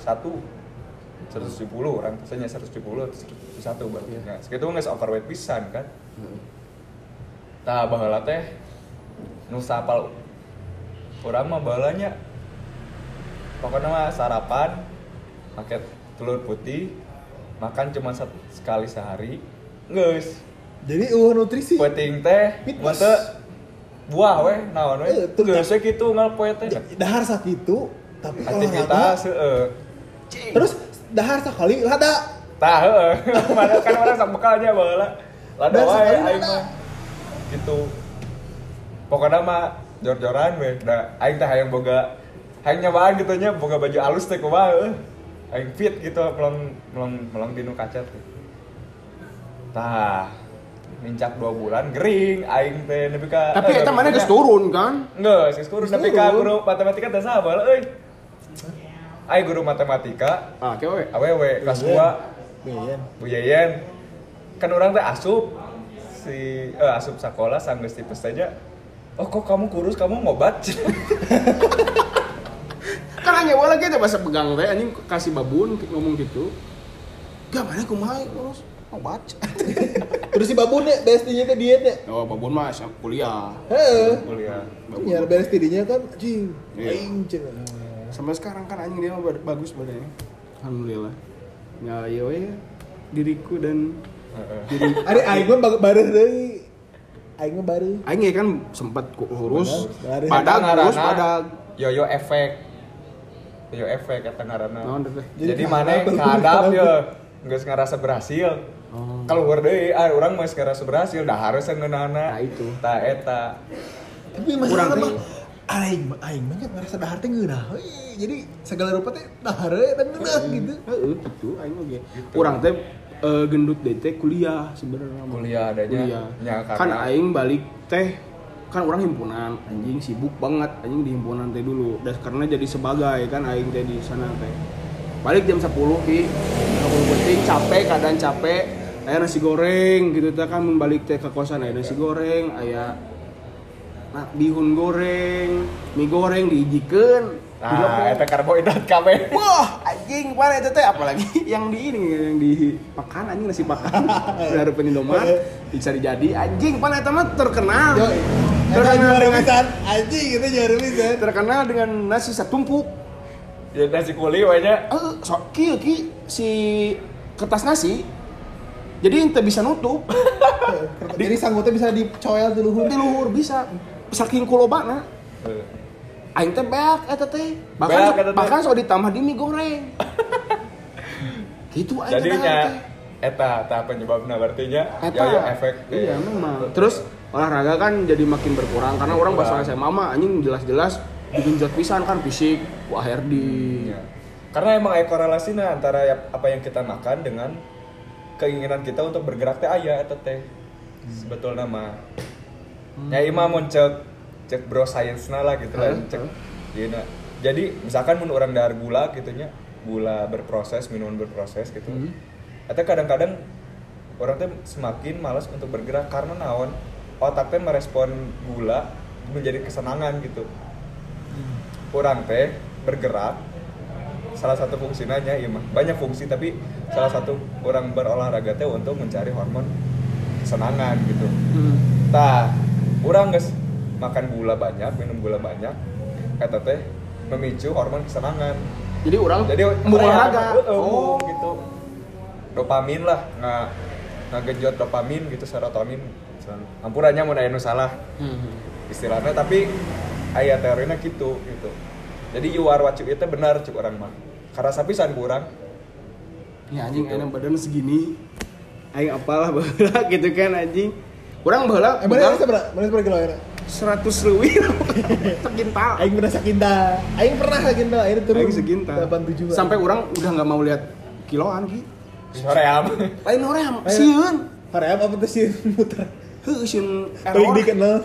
orang biasanya 170 atau 171 berarti. Nah, segitu geus overweight pisan kan. Tah baheula teh nu sapal urang mah baheulanya pokoknya mah sarapan pakai telur putih, makan cuma sekali sehari. Geus. Jadi nutrisi. Penting teh Fitness. mate buah we naon we. Tuh, Geus we kitu ngal poe teh. Dahar sakitu tapi Aktivitas heeh. terus dahar sakali lada. Tah heeh. Mana kan orang sok bekalnya baheula. Lada Dan wae sekali aing lada. mah. Gitu. Pokoknya mah jor-joran we. Da aing teh hayang boga hayang nyobaan gitu nya boga baju alus teh kumaha. Aing fit gitu melong dinu kaca teh. Tah mincak 2 bulan gering aing teh nepi ka tapi eta mana geus turun kan Enggak, geus kurus Geus nepi ka turun. guru matematika teh saha baheula euy. Ai guru matematika kewe awewe kelas 2 Beyen. Bu Yeyen kan orang teh asup asup sekolah sanggeus tipes saja. Oh kok kamu kurus, kamu ngobat? kan hanya bola kita bahasa pegang teh anjing kasih babun ngomong gitu gak mana kumaha terus mau baca Terus si babun nya BSD-nya teh diet nya. oh babun mah siap kuliah Heeh. Kuliah. Nyar beres tidinya kan anjing. Iya. Aing cenah. sampai sekarang kan anjing dia mah bagus badannya alhamdulillah ya ya we diriku dan Heeh. Ari aing mah bareuh deui. Aing mah bareuh. aing ya kan sempat kurus Benar. pada kurus Ngaranna pada Yoyo efek. Yoyo efek eta ngaranna. naon teh Jadi mana ngadap ya geus ngarasa berhasil. oh Kalau deui urang mah geus ngarasa berhasil, dah harus ngeunana. Nah, itu. Tah eta. Tapi Kurang masalah teh. mah aing mah nya ngarasa dahar teh ngeunah we. Jadi segala rupa teh dahar we dan ngeunah gitu. heeh gitu aing oge urang teh gendut deui teh kuliah sebenarnya mah. Kuliah adanya. kuliah Ya, kan karena- aing balik teh kan orang himpunan anjing sibuk banget anjing di himpunan teh dulu dan karena jadi sebagai kan aing teh di sana teh balik jam 10 ki 10 penting capek keadaan capek aya nasi goreng gitu teh kan mun balik teh ke kosan aya nasi goreng aya bihun goreng mie goreng diijikeun Nah, eta karbohidrat kabeh. wah anjing mana itu teh apalagi yang di ini yang di pakan anjing nasi pakan dari Indomaret bisa dijadi anjing mana itu mah terkenal Yo. terkenal dengan anjing itu juara pisan. terkenal dengan nasi satumpuk Ya nasi kuli we nya. so ki si kertas nasi jadi ente bisa nutup Jadi sanggutnya bisa dicoel di luhur. di luhur bisa saking kulobana aing teh beak eta teh Beak eta teh. bahkan so ditambah di mie goreng gitu aing teh Jadinya teh. eta penyebabna berarti nya Eta, yoyo efek. iya memang. Terus olahraga kan jadi makin berkurang karena orang pas SMA mah anjing jelas-jelas digenjot pisan kan fisik, wah Herdi. Ya. Karena emang ada korelasinya antara apa yang kita makan dengan keinginan kita untuk bergerak teh aya eta teh. Sebetulnya mah. Ya imah mun cek bro science-na lah gitu lah cek. Yeuna. Jadi misalkan mun orang dahar gula gitu nya, gula berproses, minuman berproses gitu. Eta kadang-kadang orang teh semakin malas untuk bergerak karena naon? Otak teh merespon gula menjadi kesenangan gitu. Orang teh bergerak salah satu fungsinya ya mah banyak fungsi tapi salah satu orang berolahraga teh untuk mencari hormon kesenangan gitu. Tah, orang guys makan gula banyak, minum gula banyak, eta teh memicu hormon kesenangan. Jadi orang Jadi olahraga. oh gitu. Dopamin lah, ngagejot dopamin gitu, serotonin. Ampurannya mun aya nu salah istilahnya tapi aya teorinya gitu. Jadi you are what you eat benar cuk orang mah. Karena sapisan kurang. Ya anjing enak badan segini. Aing apalah baheula gitu kan anjing. Kurang baheula. Mana seberapa kilo ya? 100 leuwih. Sekintal. Aing pernah sakinta. Aing pernah sakinta, aing turun. Aing segintal. 87. Sampai orang udah enggak mau lihat kiloan ki. Hoream. Lain hoream, sieun. Hoream apa tuh sih muter? Heuh sieun Paling error. dikenal.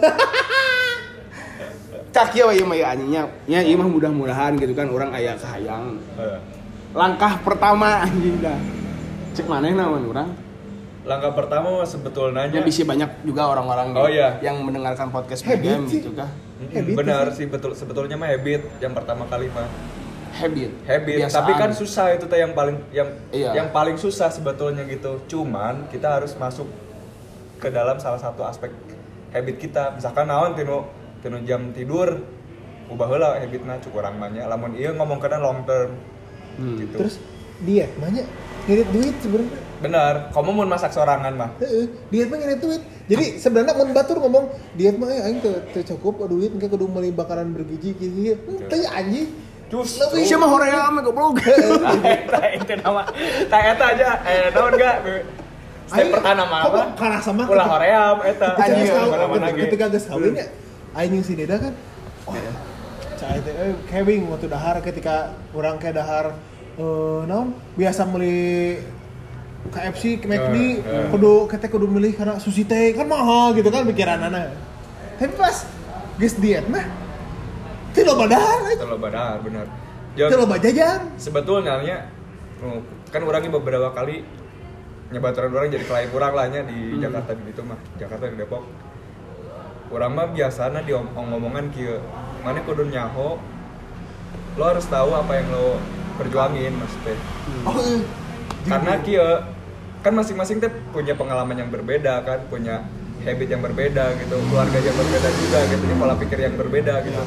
Cak ieu we mah anjingnya. Ya ieu mah mudah-mudahan gitu kan orang aya kahayang. Langkah pertama anjing dah. Cek manehna mun urang. Langkah pertama sebetulnya Ya bisa banyak juga orang-orang Oh, iya. yang mendengarkan podcast Habit game sih. gitu kah. Habit benar sih. sih sebetulnya mah habit yang pertama kali mah. Habit. Habit, tapi kan susah itu teh yang paling Iya. yang paling susah sebetulnya gitu. Cuman kita harus masuk ke dalam salah satu aspek habit kita. Misalkan naon tinu jam tidur ubah heula habitna cukup urang mah nya. Lamun ieu ngomongkeun long term. Gitu. Terus diet banyak ngirit duit sebenarnya. Benar, kamu mau masak sorangan mah. Heeh, diet mah ngirit duit. Jadi sebenarnya mun batur ngomong diet mah aing teu cukup duit engke kudu meuli bakaran bergizi kieu. Teh anjing. Justru Lebih Siapa hoream goblok. itu nama eta aja naon enggak step pertama mah apa Karena sama ulah hoream eta ketika geus kawin ya aing si Deda kan. Oh, cai teh kewing waktu dahar ketika urang ke dahar naon biasa meuli KFC, McD, kudu milih karena sushi teh kan mahal gitu kan pikiranana. Tapi pas geus diet mah teu loba dahar. Teu loba dahar bener. Teu loba jajan. Sebetulnya kan orangnya beberapa kali nyebaturan orang jadi klien orang lah nya di Jakarta gitu mah. Jakarta di Depok. Orang mah biasana ngomongan kieu, mana kudu nyaho. Lo harus tahu apa yang lo perjuangin maksudnya. Oh, Karena kieu kan masing-masing teh punya pengalaman yang berbeda kan, punya habit yang berbeda gitu, keluarga yang berbeda juga gitu, pola pikir yang berbeda gitu.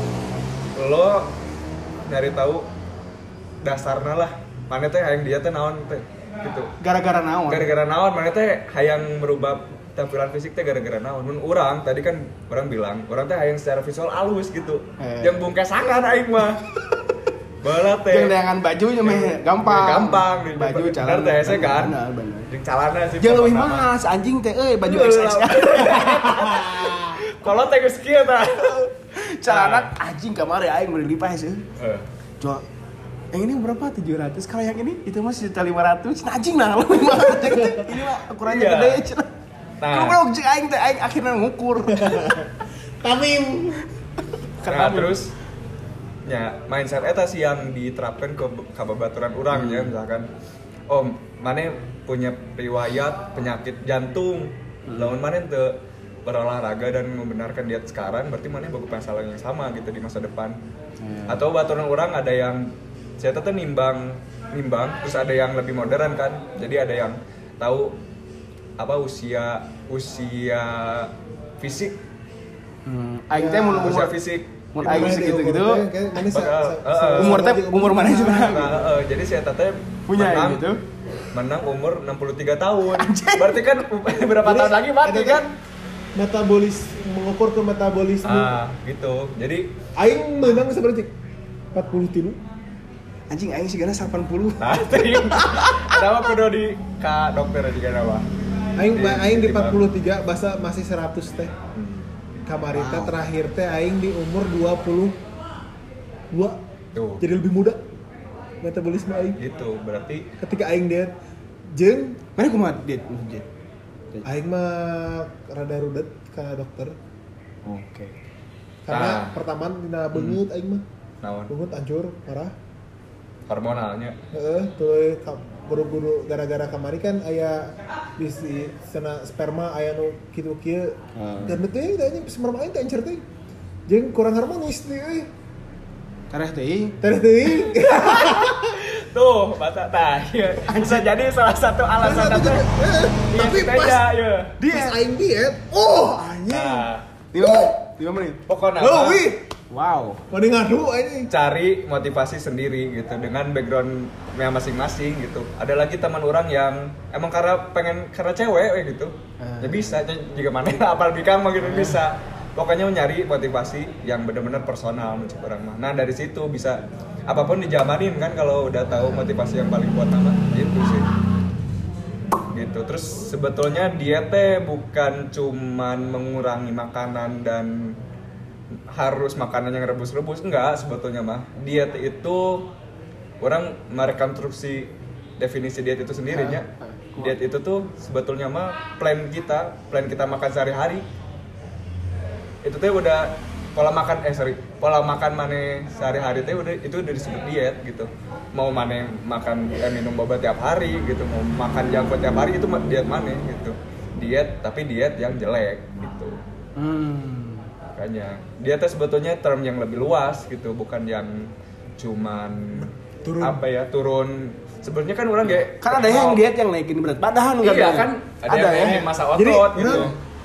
Lo nyari tahu dasarnya lah, mana teh hayang dia teh naon teh gitu. Gara-gara naon? Gara-gara naon, mana teh hayang merubah tampilan fisik teh gara-gara naon. Mun urang tadi kan orang bilang, orang teh hayang secara visual halus gitu. Yang bungkesangan aing mah. Bala teh. Yang dengan bajunya mah gampang. Gampang Baju celana teh hese kan. Benar. Jeung calana sih. Jeung leuwih mahal anjing teh baju XX. Kalau teh geus kieu tah. Celana anjing kamari aing beli lipas sih. Jual yang ini berapa? 700. Kalau yang ini itu mah 1.500. Anjing nah lebih mahal. Ini mah ukurannya Iya. gede cenah. Nah. Goblok jeung aing teh aing akhirnya ngukur. Tamim. Nah, terus ya mindset eta sih yang diterapkan ke babaturan urang ya, misalkan mana punya riwayat penyakit jantung, lamun mana teu berolahraga dan membenarkan diet sekarang, berarti mana boga masalah yang sama gitu di masa depan. Atau baturan urang ada yang saya teteh nimbang, terus ada yang lebih modern kan, jadi ada yang tahu apa usia fisik, Aing teh mun usia umur fisik. mun aing segitu-gitu. Umur Umur mana sih? Jadi si Eta teh Punya menang, gitu. menang umur 63 tahun. Berarti kan berapa tahun lagi mati kan? Metabolis mengukur ke metabolisme. Gitu. Jadi Aing menang seberapa? 43. Anjing aing sigana 80. nanti ada apa kudu di ka dokter juga nama. Aing di 43 basa masih 100 teh. Kamari teh terakhir teh aing di umur 22. Tuh. Jadi lebih muda. Metabolisme aing. Gitu. Berarti Ketika aing diet jeung Mana kumaha diet? aing mah rada rudet ke dokter. Oke. Karena Nah. pertama dina beungeut aing mah. naon? Beungeut hancur parah. Hormonalnya. Tuh guru-guru gara-gara kamari kan aya bisi sana sperma aya nu kitu kieu. Dan teh tanya sperma aing teh encer teh. Jeung kurang harmonis teh euy. Kareh teh. Terus teh. Tuh, mata tah. Bisa jadi salah satu alasan teh. Tapi Iya, pas ya. pas aing diet, anjing. Nah, 5 menit. pokoknya Wih, Wow. mending ngadu anjing. cari motivasi sendiri gitu dengan backgroundnya masing-masing gitu. Ada lagi teman orang yang emang karena cewek gitu. Ya bisa, juga mana apal bikang mah gitu bisa. pokoknya nyari motivasi yang benar-benar personal mencik orang mah. Nah dari situ bisa apapun dijamanin kan kalau udah tahu motivasi yang paling kuat nama gitu sih. Gitu. Terus sebetulnya diet teh bukan cuman mengurangi makanan dan harus makanan yang rebus-rebus, enggak sebetulnya mah. Diet itu orang merekonstruksi definisi diet itu sendirinya. Diet itu tuh sebetulnya mah plan kita makan sehari-hari. Itu teh udah pola makan mana sehari-hari teh udah disebut diet gitu. Mau mana makan minum boba tiap hari gitu, mau makan junk food tiap hari itu diet mana gitu. Diet tapi diet yang jelek gitu. Makanya dietnya sebetulnya term yang lebih luas gitu, bukan yang cuman turun. Sebenarnya kan orang kayak kan ada yang diet yang naikin berat badan kan. Iya kan ada yang masa otot jadi, gitu.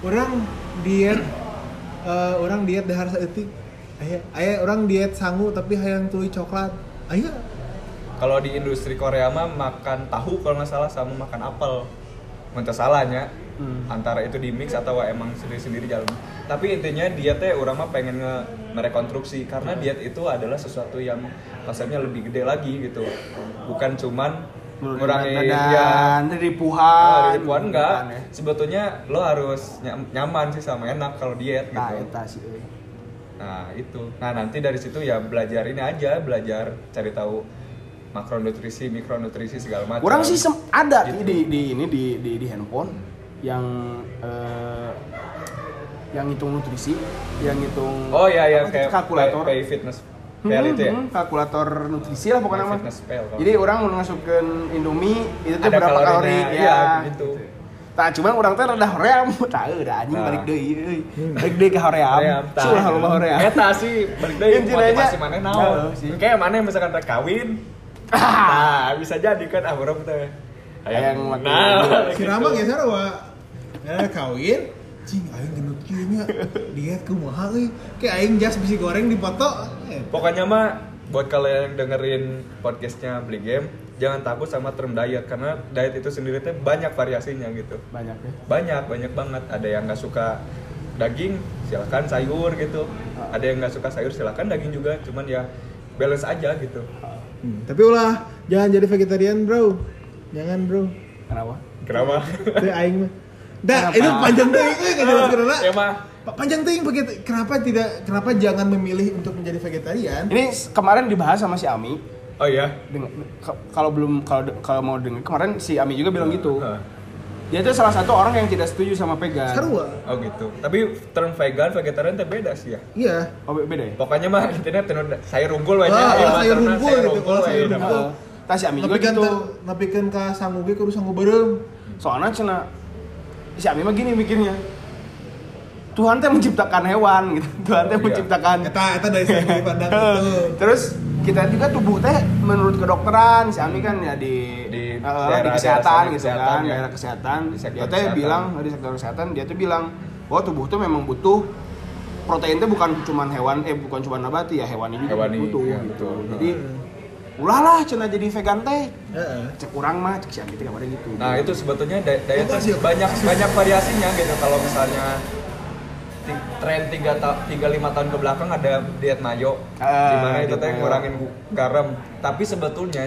Orang diet dahar saeutik. Aya orang diet sangu tapi hayang tuluy coklat. Aya. Kalau di industri Korea mah makan tahu kalau nggak salah sama makan apel. Mentah salahnya. Antara itu di mix atau emang sendiri-sendiri jalan. Tapi intinya dietnya orang mah pengen merekonstruksi karena diet itu adalah sesuatu yang konsepnya lebih gede lagi gitu. Bukan cuman ngurangi ripuhan enggak. Sebetulnya lo harus nyaman sih sama enak kalau diet gitu. Nah, itu. Nah, nanti dari situ ya belajar ini aja, belajar cari tahu makronutrisi, mikronutrisi segala macam. Orang sih ada gitu. di handphone yang hitung nutrisi, yang hitung kayak kalkulator kayak fitness pal itu ya. Kalkulator nutrisi lah pokoknya mah. Fitness pal. Jadi orang masukkan Indomie itu tuh ada berapa kalori ya gitu. Tah cuman orang teh rada hoream, tah udah anjing balik deui. Balik deui ke hoream. Sulah loba hoream. Eta sih balik deui motivasi maneh naon. Kayak maneh misalkan rek kawin. Nah, bisa jadi kan urang teh. Hayang si Rama geus sarua. Kawin cing aing gendut kieu nya diet kumaha euy. Kayak aing jas bisi goreng dipoto. Pokoknya mah buat kalian yang dengerin podcastnya Beli Game, jangan takut sama term diet karena diet itu sendiri tuh banyak variasinya gitu. Banyak ya. Banyak banget. Ada yang nggak suka daging, silakan sayur gitu. Ada yang nggak suka sayur, silakan daging juga. Cuman ya balance aja gitu. Tapi ulah jangan jadi vegetarian, bro. Jangan, bro. Kenapa? Teh aing mah. Dah, itu panjang teuing euy kajelaskeunna. Ya mah. Panjang teuing kenapa jangan memilih untuk menjadi vegetarian? Ini kemarin dibahas sama si Ami. Oh iya. Kalau mau dengar kemarin si Ami juga bilang gitu. Dia itu salah satu orang yang tidak setuju sama vegan. Sarua. Oh gitu. Tapi term vegan, vegetarian itu beda sih ya. Iya. Oh beda ya? Pokoknya mah internet sayur unggul banyak. Sayur unggul gitu. Kalau sayur unggul. Tah si Ami juga gitu. Napikeun ka sangu ge kudu sangu beureum. Soalnya cenah si Ami mah gini mikirnya. Tuhan teh menciptakan hewan gitu. Tuhan teh menciptakan Eta dari segi pandang itu. Terus kita juga tubuh teh menurut kedokteran si Ami kan ya di kesehatan gitu kan, daerah kesehatan. Dia teh bilang di sektor kesehatan dia tuh bilang bahwa tubuh tuh memang butuh protein teh bukan cuma hewan bukan cuma nabati ya hewani juga butuh ya, gitu. betul. Jadi ulahlah cenah jadi vegan teh. Cek urang mah cek si Ami teh kabarnya gitu. Nah, itu sebetulnya diet banyak variasinya gitu. Kalau misalnya tren 3-5 tahun ke belakang ada diet mayo dimana itu teh ngurangin garam, tapi sebetulnya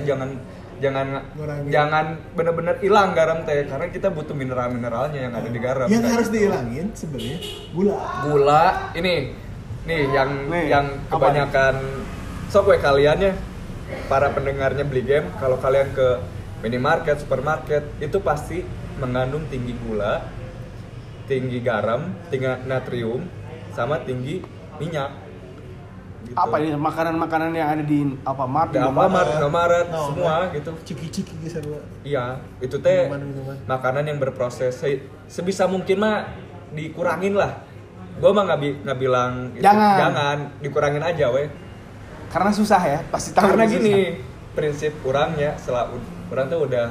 jangan benar-benar hilang garam teh karena kita butuh mineralnya yang ada di garam. Yang harus dihilangin sebenarnya gula ini yang kebanyakan sok we kalian ya para pendengarnya Beli Game, kalau kalian ke minimarket, supermarket itu pasti mengandung tinggi gula, tinggi garam, tinggi natrium, sama tinggi minyak. Gitu. Apa ini makanan-makanan yang ada di Alfamart, Indomaret, semua gitu. Ciki-ciki gitu. Iya, itu teh Minuman. makanan yang berproses. Sebisa mungkin mah dikurangin lah. Gua mah nggak bilang itu, jangan dikurangin aja weh. Karena susah ya, pasti tahu. Karena gini, prinsip orangnya setelah orang tuh udah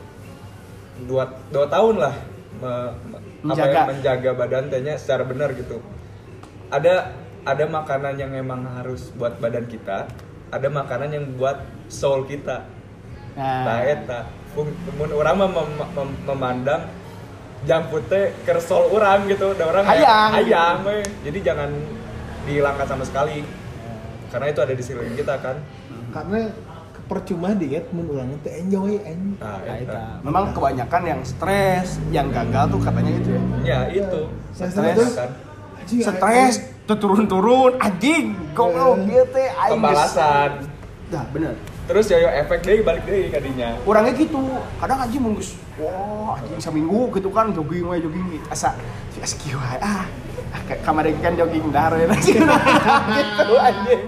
2 tahun lah menjaga badan tehnya secara benar gitu. Ada makanan yang emang harus buat badan kita, ada makanan yang buat soul kita. Nah, eta mun urang mah memandang junk food teh kersol orang gitu, ada orang hayang we. Jadi jangan dihilangkan sama sekali. Karena itu ada di sekeliling kita kan. Karena percuma diet mun urang teh enjoy anjing. Nah, itu. Memang kebanyakan yang stres, yang gagal tuh katanya gitu ya. Ya, itu. Stres kan. Stres turun-turun anjing. Goblok ieu teh aing. Pembalasan. Dah, bener. Terus yoyo efek deui balik deui kadinya. Orangnya gitu, kadang anjing mun geus wah anjing seminggu gitu kan jogging asa kieu wae kamari kan jogging dahar we gitu anjing.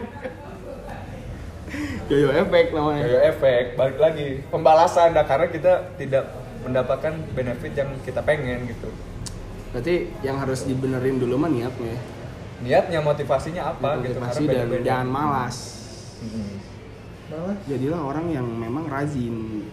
Yoyo efek namanya. Yoyo efek balik lagi pembalasan karena kita tidak mendapatkan benefit yang kita pengen gitu. Berarti yang harus dibenerin dulu mah niatnya. Niatnya motivasinya apa gitu Motivasi karena dan beda-beda. jangan malas. Malah Jadilah orang yang memang rajin.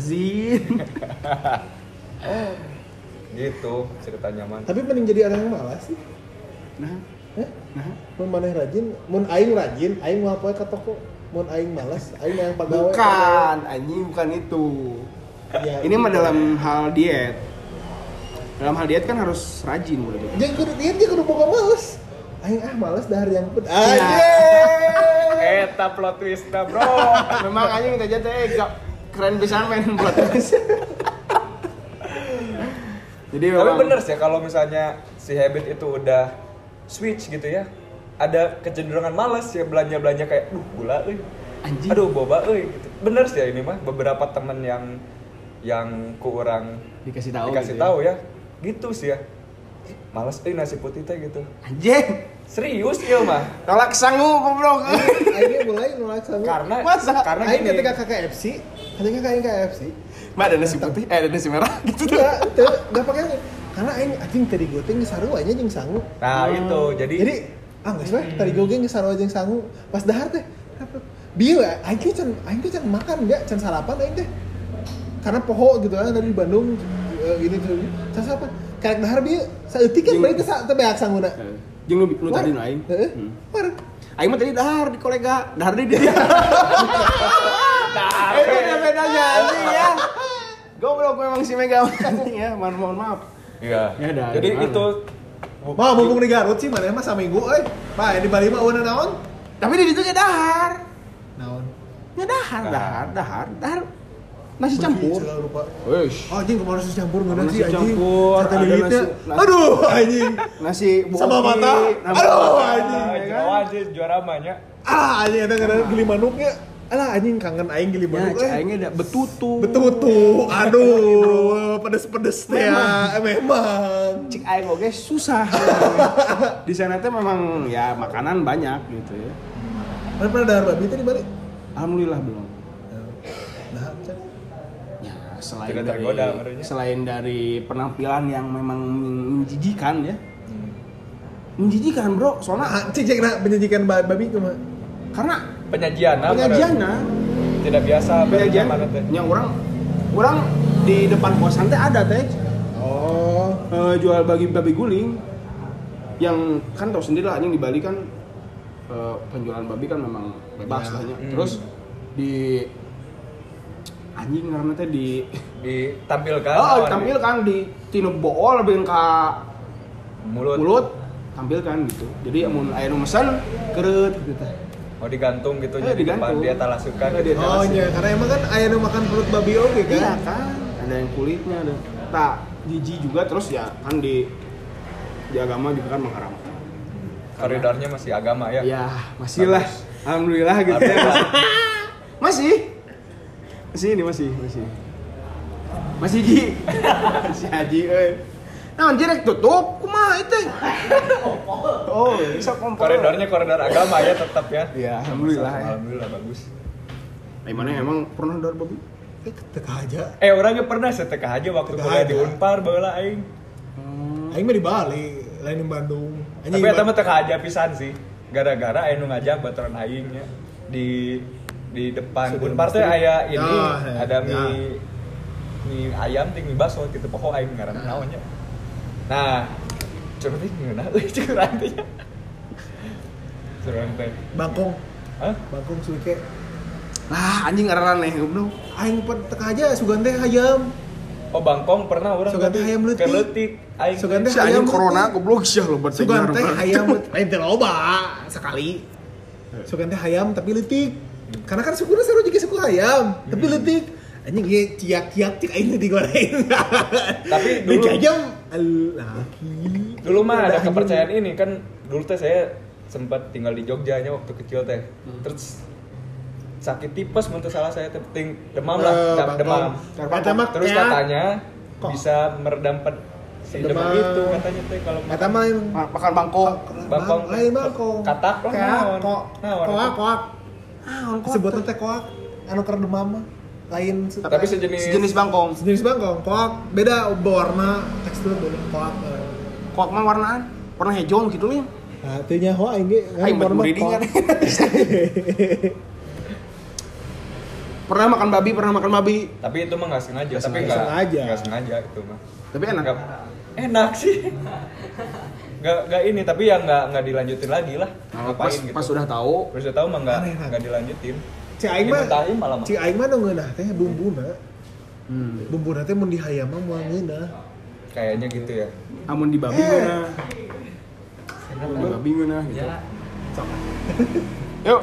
Gitu ceritanya man. tapi mending jadi orang yang malas sih. Nah, Mun maneh rajin, mun aing rajin, aing moal poe ka toko. Mun aing malas, aing yang pagawe. bukan anjing bukan itu. Ya, Ini mah dalam hal diet. Dalam hal diet kan harus rajin berarti. Jeung kudu diet jeung kudu boga males. Aing males dahar yang pun. Eta plot twist dah bro. Memang anjing kita aja teh keren pisan main buat terus. Jadi Tapi memang bener sih kalau misalnya si habit itu udah switch gitu ya. Ada kecenderungan malas ya belanja kayak gula euy. Anjing. Aduh boba euy gitu. Bener sih ya ini mah beberapa temen yang ku orang dikasih tahu tahu ya. Gitu sih ya. Males euy nasi putih teh gitu. Anjing. Serius ieu mah. Tolak sangu goblok. Aing mulai nolak sama. Karena Aing gini. ketika KFC, ketika kain KFC, Mbak ada nasi putih, ada nasi merah gitu tuh. enggak pakai karena aing anjing tadi gue teh geus sarua nya jeung sangu. Nah, itu. Jadi Geus we tadi gue geus sarua jeung sangu. Pas dahar teh bieu aing teh can makan ya, can sarapan aing teh. Karena poho gitu kan dari Bandung gini tuh. Can sarapan. Karek dahar bieu saeutik kan balik teh beak sanguna. Jeung lu tadi nu aing. Heeh. Parah. Aing mah tadi dahar di kolega, dahar di dia. Itu bedanya anjing ya. Goblok memang si Mega anjing ya, mohon maaf. iya. Ya, dah, Jadi gimana? itu Mah mumpung di Garut sih mana mah saminggu euy. Pak di Bali mah eueuh naon? Tapi di ditu ge dahar. Naon? Ya dahar. Nasi campur. Segala rupa. Weish. Oh, anjing kemarin nasi campur nggak Nasi nasi anjing. campur, Sate ada lilitnya. nasi- Aduh, anjing. Nasi Sama boki, mata. nambah Aduh, mata, anjing. ya kan? Jawa aja juara mahnya. Anjing ada karena gili manuknya. Alah anjing kangen aing gili Ya, manuk. aingnya ada betutu. Betul. Aduh, pedes-pedes teh ya. Memang. Cik aing oge susah. Di sana teh memang ya makanan banyak gitu ya. Mana pernah dahar babi teh di Bali? Alhamdulillah belum. Dahar. Ya, Tidak tergoda, merenya. selain dari penampilan yang memang menjijikan ya. Menjijikan, Bro. Soalnya Cek menyajikan babi kumaha? karena Penyajiannya tidak biasa penyajian mana teh. yang orang di depan kosan teh ada teh Oh. jual babi guling yang kan tau sendiri lah anjing di Bali kan penjualan babi kan memang bebas lah nya. Terus di anjing karena teh Ditampilkan. ditampilkan di tinu bool lebih ka mulut tampilkan gitu. Jadi mun aya nu mesen keureut gitu teh. Oh digantung gitu jadi digantung. depan dia talasukan Di gitu. atas. Oh iya, karena emang kan aya nu makan perut babi oge kan. Iya kan, ada yang kulitnya ada. Tak jijik juga terus ya kan di agama juga kan mengharamkan. Koridornya masih agama ya. Ya, masih lah. Alhamdulillah gitu ya. Masih. Masih. Masih Ji. Masih Haji euy. Nah, direk tutup kumaha itu? Oh, bisa kompor. Koridornya koridor agama ya tetap ya. Ya, alhamdulillah ya. Alhamdulillah bagus. Mana emang pernah dahar babi? Teka aja. Orangnya pernah setekah aja waktu Teka kuliah aja. di Unpar baheula aing. Aing mah di Bali, lain di Bandung. Tapi eta mah teka aja pisan sih. Gara-gara aya nu ngajak baturan aing nya di depan Sudah Unpar teh pasti. aya ini Ya, ada ya. mie ayam ting mie bakso gitu poho aing ngaranna naon nya. Nah, coba teh ngeunah euy curang teh. Curang teh. Bangkong, Hah? Bangkong suike. Lah, anjing ngaran aneh goblok. Aing teka aja sugan teh hayam. Oh Bangkong pernah orang Sugan teh hayam leutik. Keleutik aing. Sugan teh Si hayam anjing corona leutik. goblok sih lo buat Sugan teh hayam lain teh loba sekali. Sugan teh hayam tapi leutik. Karena kan sukunya seru juga suku hayam, tapi leutik. Anjing ieu ciak-ciak cik aing teh digoreng. Tapi dulu Dikajam laki. dulu mah ada kepercayaan ini kan dulu teh saya sempat tinggal di Jogja nya waktu kecil teh. Terus sakit tipes menurut salah saya teh demam lah, demam. Kata mah Terus kayak- katanya Kok? bisa meredam si demam Demam. itu katanya teh kalau Kata mah makan bangkok. Bangkong lain bangkong. katak lah naon. Kok. Naon. Koak. Sebutan teh koak. Anu keur demam mah. Lain Tapi Sejenis bangkong. sejenis bangkong. Koak beda warna tekstur beda koak. Kok mah warnaan? Warna hijau gitu nih. Nah, teu nyaho aing ge Aing buat breedingan. Pernah makan babi. Tapi itu mah nggak sengaja, Nggak tapi sengaja. nggak sengaja itu mah. Tapi enak. Enak sih. Nggak ini, tapi ya nggak dilanjutin lagi lah. Pas, Ngapain gitu. pas sudah tahu, Terus udah tahu mah Aneh, nggak dilanjutin. Cik aing mah Dimutahin malah mah. Cik aing mah nu ngeunah teh bumbuna. Bumbuna teh mun di hayam mah moal ngeunah. Kayaknya gitu ya. amun di babi mana? Di babi mana gitu. Ya, Yuk,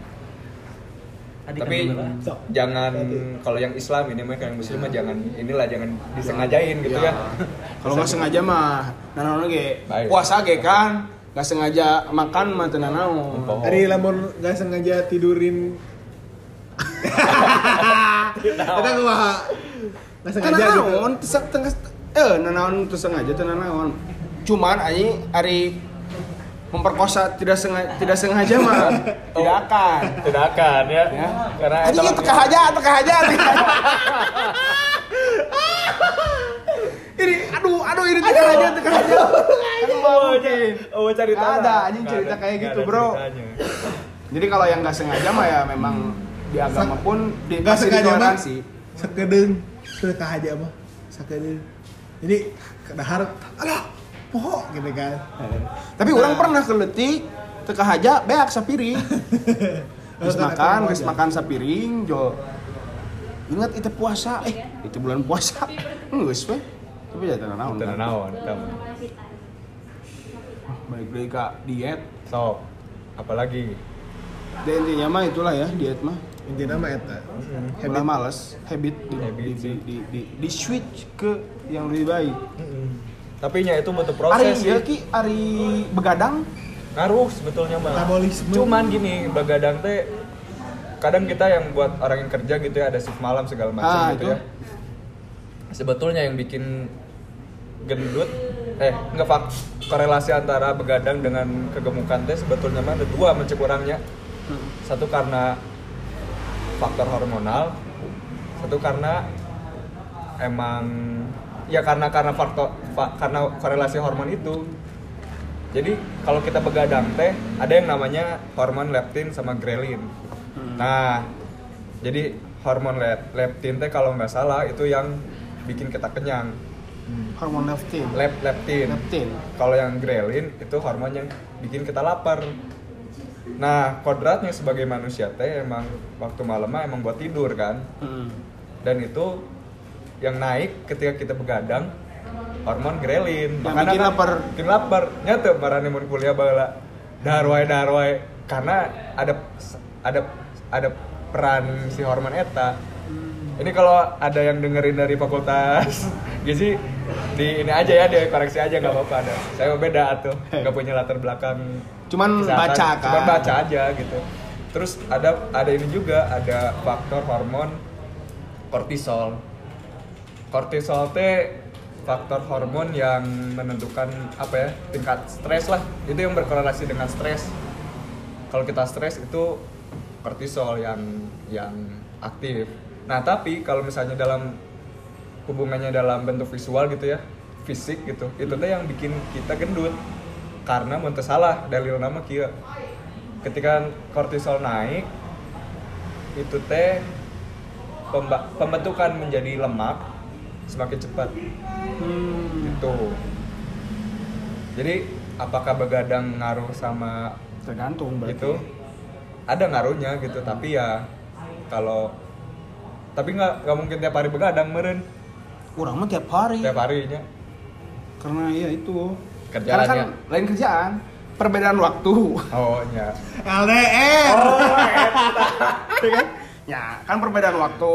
tadi Tapi kan Sok. jangan kalau yang Islam ini mah yang Muslim mah jangan disengajain gitu ya. kalau nggak sengaja mah, nanaon ge Baik. puasa ge kan, nggak sengaja makan mah teu nanaon. Oh. Ari lamun gak sengaja tidurin. Kita kumaha? Gak sengaja gitu. Nanaon nanaon teu sengaja teu nanaon. Cuman ari memperkosa tidak sengaja mah tidak akan. Tidak akan ya. Ya. Karena Anjing eta ieu teka aja. Ini aduh ini teka aja. Kan mau mungkin. Oh, cerita. Nggak ada, anjing cerita kayak gitu, bro. Jadi kalau yang nggak sengaja mah ya memang di agama pun Gak masih sengaja mah ditoleransi. sakedeung teu aja mah sakedeung. Jadi kadahar alah poho gitu kan. Tapi orang pernah keletik teka aja beak sapiring. Geus makan sapiring jo. Ingat itu puasa, itu bulan puasa. Geus we. Tapi ya teu naon. Tidak naon, kamu. Balik deui ka diet. Sok. Apalagi Dan intinya mah itulah ya diet mah. Intina mah eta. Ulah males, habit di switch ke yang lebih baik. tapi nya itu butuh Ari proses sih. ya ki ari begadang Ngaruh sebetulnya mah. Metabolisme. Cuman gini, begadang teh kadang kita yang buat orang yang kerja gitu ya ada shift malam segala macam gitu itu. ya. Sebetulnya yang bikin gendut enggak korelasi antara begadang dengan kegemukan teh sebetulnya mah ada dua mencek orangnya. Satu karena faktor hormonal, satu karena emang ya karena karena korelasi hormon itu. Jadi kalau kita begadang teh ada yang namanya hormon leptin sama grelin. Nah, jadi hormon leptin teh kalau nggak salah itu yang bikin kita kenyang. hormon leptin. Leptin. Kalau yang grelin itu hormon yang bikin kita lapar. Nah, kodratnya sebagai manusia teh emang waktu malam mah emang buat tidur kan. Dan itu yang naik ketika kita begadang hormon grelin. Yang bikin lapar. Bikin lapar. Nyata marane mun kuliah baheula. Darwai karena ada peran si hormon eta. Ini kalau ada yang dengerin dari fakultas gizi di ini aja ya, dikoreksi aja nggak apa-apa ada. Saya beda atuh, nggak punya latar belakang Cuman kesehatan. baca kan. Cuman baca aja gitu. Terus ada ini juga, ada faktor hormon kortisol. Kortisol teh faktor hormon yang menentukan apa ya, tingkat stres lah. Itu yang berkorelasi dengan stres. Kalau kita stres itu kortisol yang aktif. Nah, tapi kalau misalnya dalam hubungannya dalam bentuk visual gitu ya, fisik gitu, itu teh yang bikin kita gendut. Karena mun teu salah dalil nama kieu. Ketika kortisol naik, itu teh pembentukan menjadi lemak semakin cepat. Gitu. Jadi, apakah begadang ngaruh sama Tergantung berarti. itu? Ada ngaruhnya gitu, tapi ya kalau tapi nggak mungkin tiap hari begadang meren. Kurang mah tiap hari. Tiap harinya. Karena ya itu. Kerjaannya. Karena kan lain kerjaan, perbedaan waktu. Oh, nya. LDR. Ya kan? Ya, kan perbedaan waktu.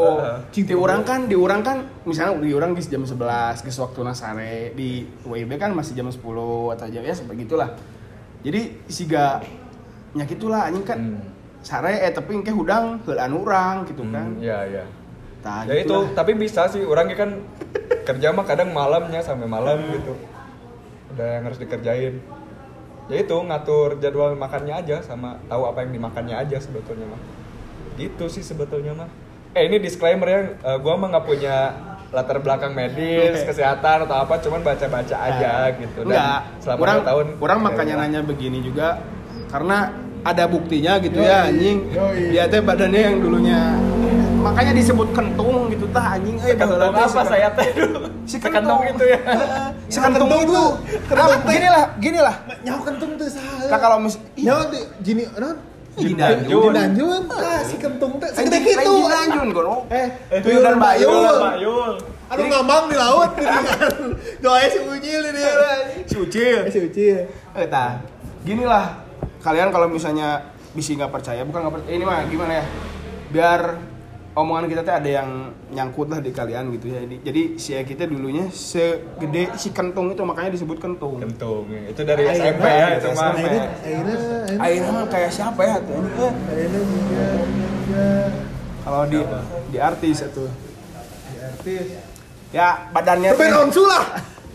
Diurang kan misalnya diurang geus jam 11, geus waktuna sare. Di WIB kan masih jam 10 atau jam ya sampai gitulah. Jadi siga nya gitulah anjing kan. Sare tapi engke hudang heulaan urang gitu kan. Iya. Tah, Ya itu, gitulah. tapi bisa sih orangnya kan kerja mah kadang malamnya sampai malam gitu. Udah yang harus dikerjain. Ya itu ngatur jadwal makannya aja sama tahu apa yang dimakannya aja sebetulnya mah. Gitu sih sebetulnya mah. Ini disclaimer ya, gua mah nggak punya latar belakang medis, kesehatan atau apa, cuman baca-baca aja gitu. Dan Enggak, selama kurang 2 tahun kurang makanya nanya begini juga karena ada buktinya gitu ya anjing. Dia teh badannya yang dulunya makanya disebut kentung gitu tah anjing Kentung apa saya teh dulu? Si Kentung itu ya. Si kentung itu. Kenapa gini lah. Nyaho kentung teh saha? Kak kalau Nyaho di gini naon? Jindanjun. Jindanjun. Si kentung teh Segede segede gitu kitu. anjun gono. Tuyul dan bayul. Bayul. Anu ngambang di laut gitu kan. Doanya si Ucil ini. Si Ucil. Si Ucil. Tah. Gini lah. Kalian kalau misalnya bisa nggak percaya, bukan nggak percaya. Ini mah gimana ya? Biar omongan kita tuh ada yang nyangkut lah di kalian gitu ya. Jadi si kita dulunya segede si kentung itu makanya disebut kentung. Kentung. Itu dari SMP ya itu mah. Akhirnya mah kayak siapa ya tuh? Akhirnya juga Kalau di artis itu. di artis. Ya badannya Ben Onsu lah.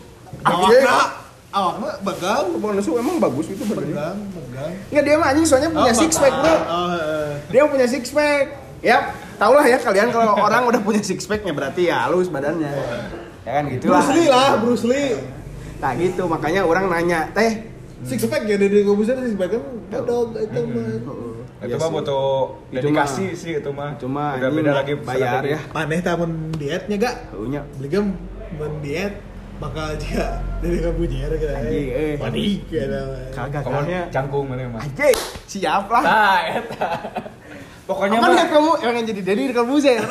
Awakna. Awakna begang. Bang Nesu emang bagus itu badannya. Begang. Enggak dia mah anjing soalnya punya six pack bro. Dia punya six pack. Ya, tau lah ya kalian kalau orang udah punya six packnya berarti ya halus badannya. Ya kan gitu lah. Bruce Lee. Nah gitu makanya orang nanya, teh Six pack ya dari Kobuser six pack kan bodog itu mah. Itu mah butuh dedikasi sih itu mah. Cuma udah beda lagi bayar ya. Maneh tah mun dietnya gak? Heunya. Beli gem mun diet bakal dia dari kabujer gitu. Anjing, Panik gitu. Kagak Kamu kayaknya. canggung mana mah. Anjing, siap lah. Nah, eta. Pokoknya Aman mah ya kamu yang jadi Dedi di Kalbuzer.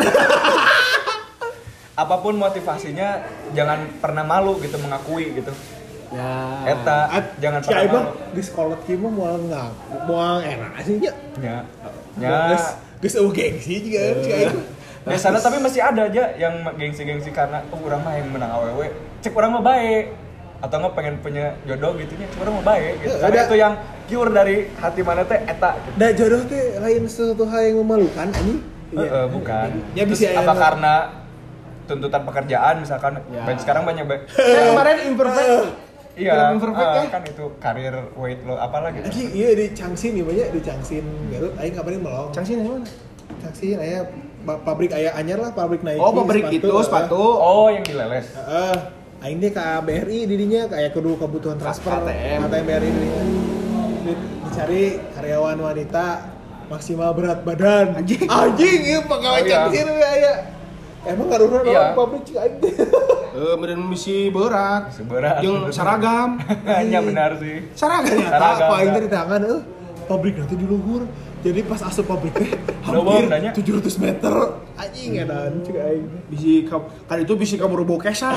apapun motivasinya jangan pernah malu gitu mengakui gitu. Ya. Eta jangan Si pernah Aibah malu. di sekolah kieu mah moal ngaku, moal enak sih nya. Ya. Geus gengsi juga si Aibah. Biasanya tapi masih ada aja yang gengsi-gengsi karena urang mah yang menang awewe. Cek urang mah bae. Atau nggak pengen punya jodoh gitu nya, cek urang mah bae gitu. Karena Ada. itu yang pure dari hati mana teh eta gitu. Da jodoh teh lain sesuatu hal yang memalukan anjing. Bukan. Ya, Terus bisa apa enak. karena tuntutan pekerjaan misalkan Ya. sekarang banyak Kemarin imperfect. iya Film imperfect ya? kan itu karir weight lo apalah gitu. Anjing iya di Changsin nih banyak di Changsin Garut aing kabarin melong. Cangsin mana? Changsin aya pabrik aya anyar lah pabrik Nike. Oh, pabrik itu sepatu. Oh yang dileles. Aing deh ke BRI didinya kayak kudu kebutuhan transfer ATM. BRI didinya. Dicari karyawan wanita maksimal berat badan. Anjing. Iya pegawai Oh, iya. Changsin we aya. Emang ngaruhna Iya. pabrik cik aing teh. Meren misi berat. Seberat. Yang seragam. Hanya benar sih. Seragam ya. Seragam. Apa aing teh di tangan pabrik nanti di luhur. Jadi pas asup pabrik teh Leuweung hampir danya. 700 meter. Anjing edan cik aing. Bisi kan itu bisi kabur bokesan.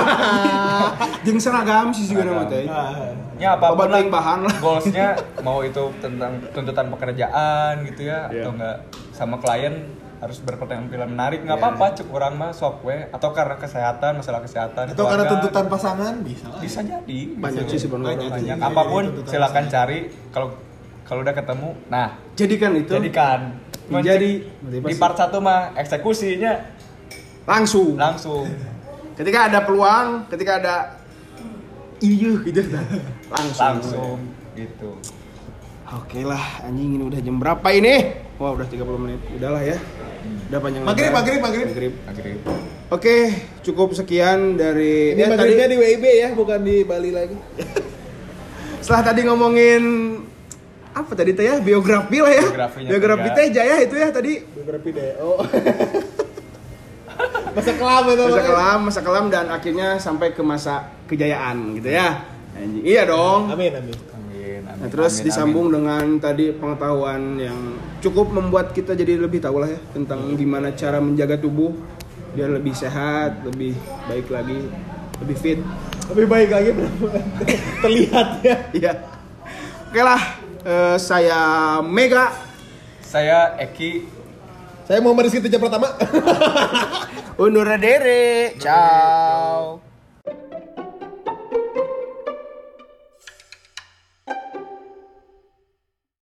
Jeung seragam sih juga nama teh. Ya apapun Obat lah yang bahan lah. goalsnya mau itu tentang tuntutan pekerjaan gitu ya Iya. atau enggak sama klien harus berpenampilan menarik nggak apa-apa cek orang mah sok we atau karena kesehatan masalah kesehatan Atau karena keluarga, tuntutan pasangan bisa lah. bisa jadi Banyak gitu. sih sebenarnya. banyak Iya, apapun tuntutan silakan pasangan. cari kalau udah ketemu nah Jadikan itu. jadikan Cuman Jadi di part 1 mah eksekusinya langsung. Ketika ada peluang, ketika ada gitu langsung. gitu Oke lah, anjing ini udah jam berapa ini? Wah, udah 30 menit. Udahlah ya. Udah panjang Maghrib. Maghrib. Oke, cukup sekian dari Ini maghribnya di WIB ya, bukan di Bali lagi. setelah tadi ngomongin apa tadi teh ya? Biografi lah ya. Biografinya Biografi Tega. teh Jaya itu ya tadi. Biografi DO. Masa kelam itu. Masa kelam dan akhirnya sampai ke masa kejayaan gitu ya. Anjing. Iya dong. Amin. Nah, terus disambung dengan tadi pengetahuan yang cukup membuat kita jadi lebih tahu lah ya tentang gimana cara menjaga tubuh biar lebih sehat, lebih baik lagi, lebih fit. Lebih baik lagi terlihat ya. Iya. Oke lah, saya Mega. Saya Eki. Saya mau Rizky Teja Pratama. Undur diri. Ciao.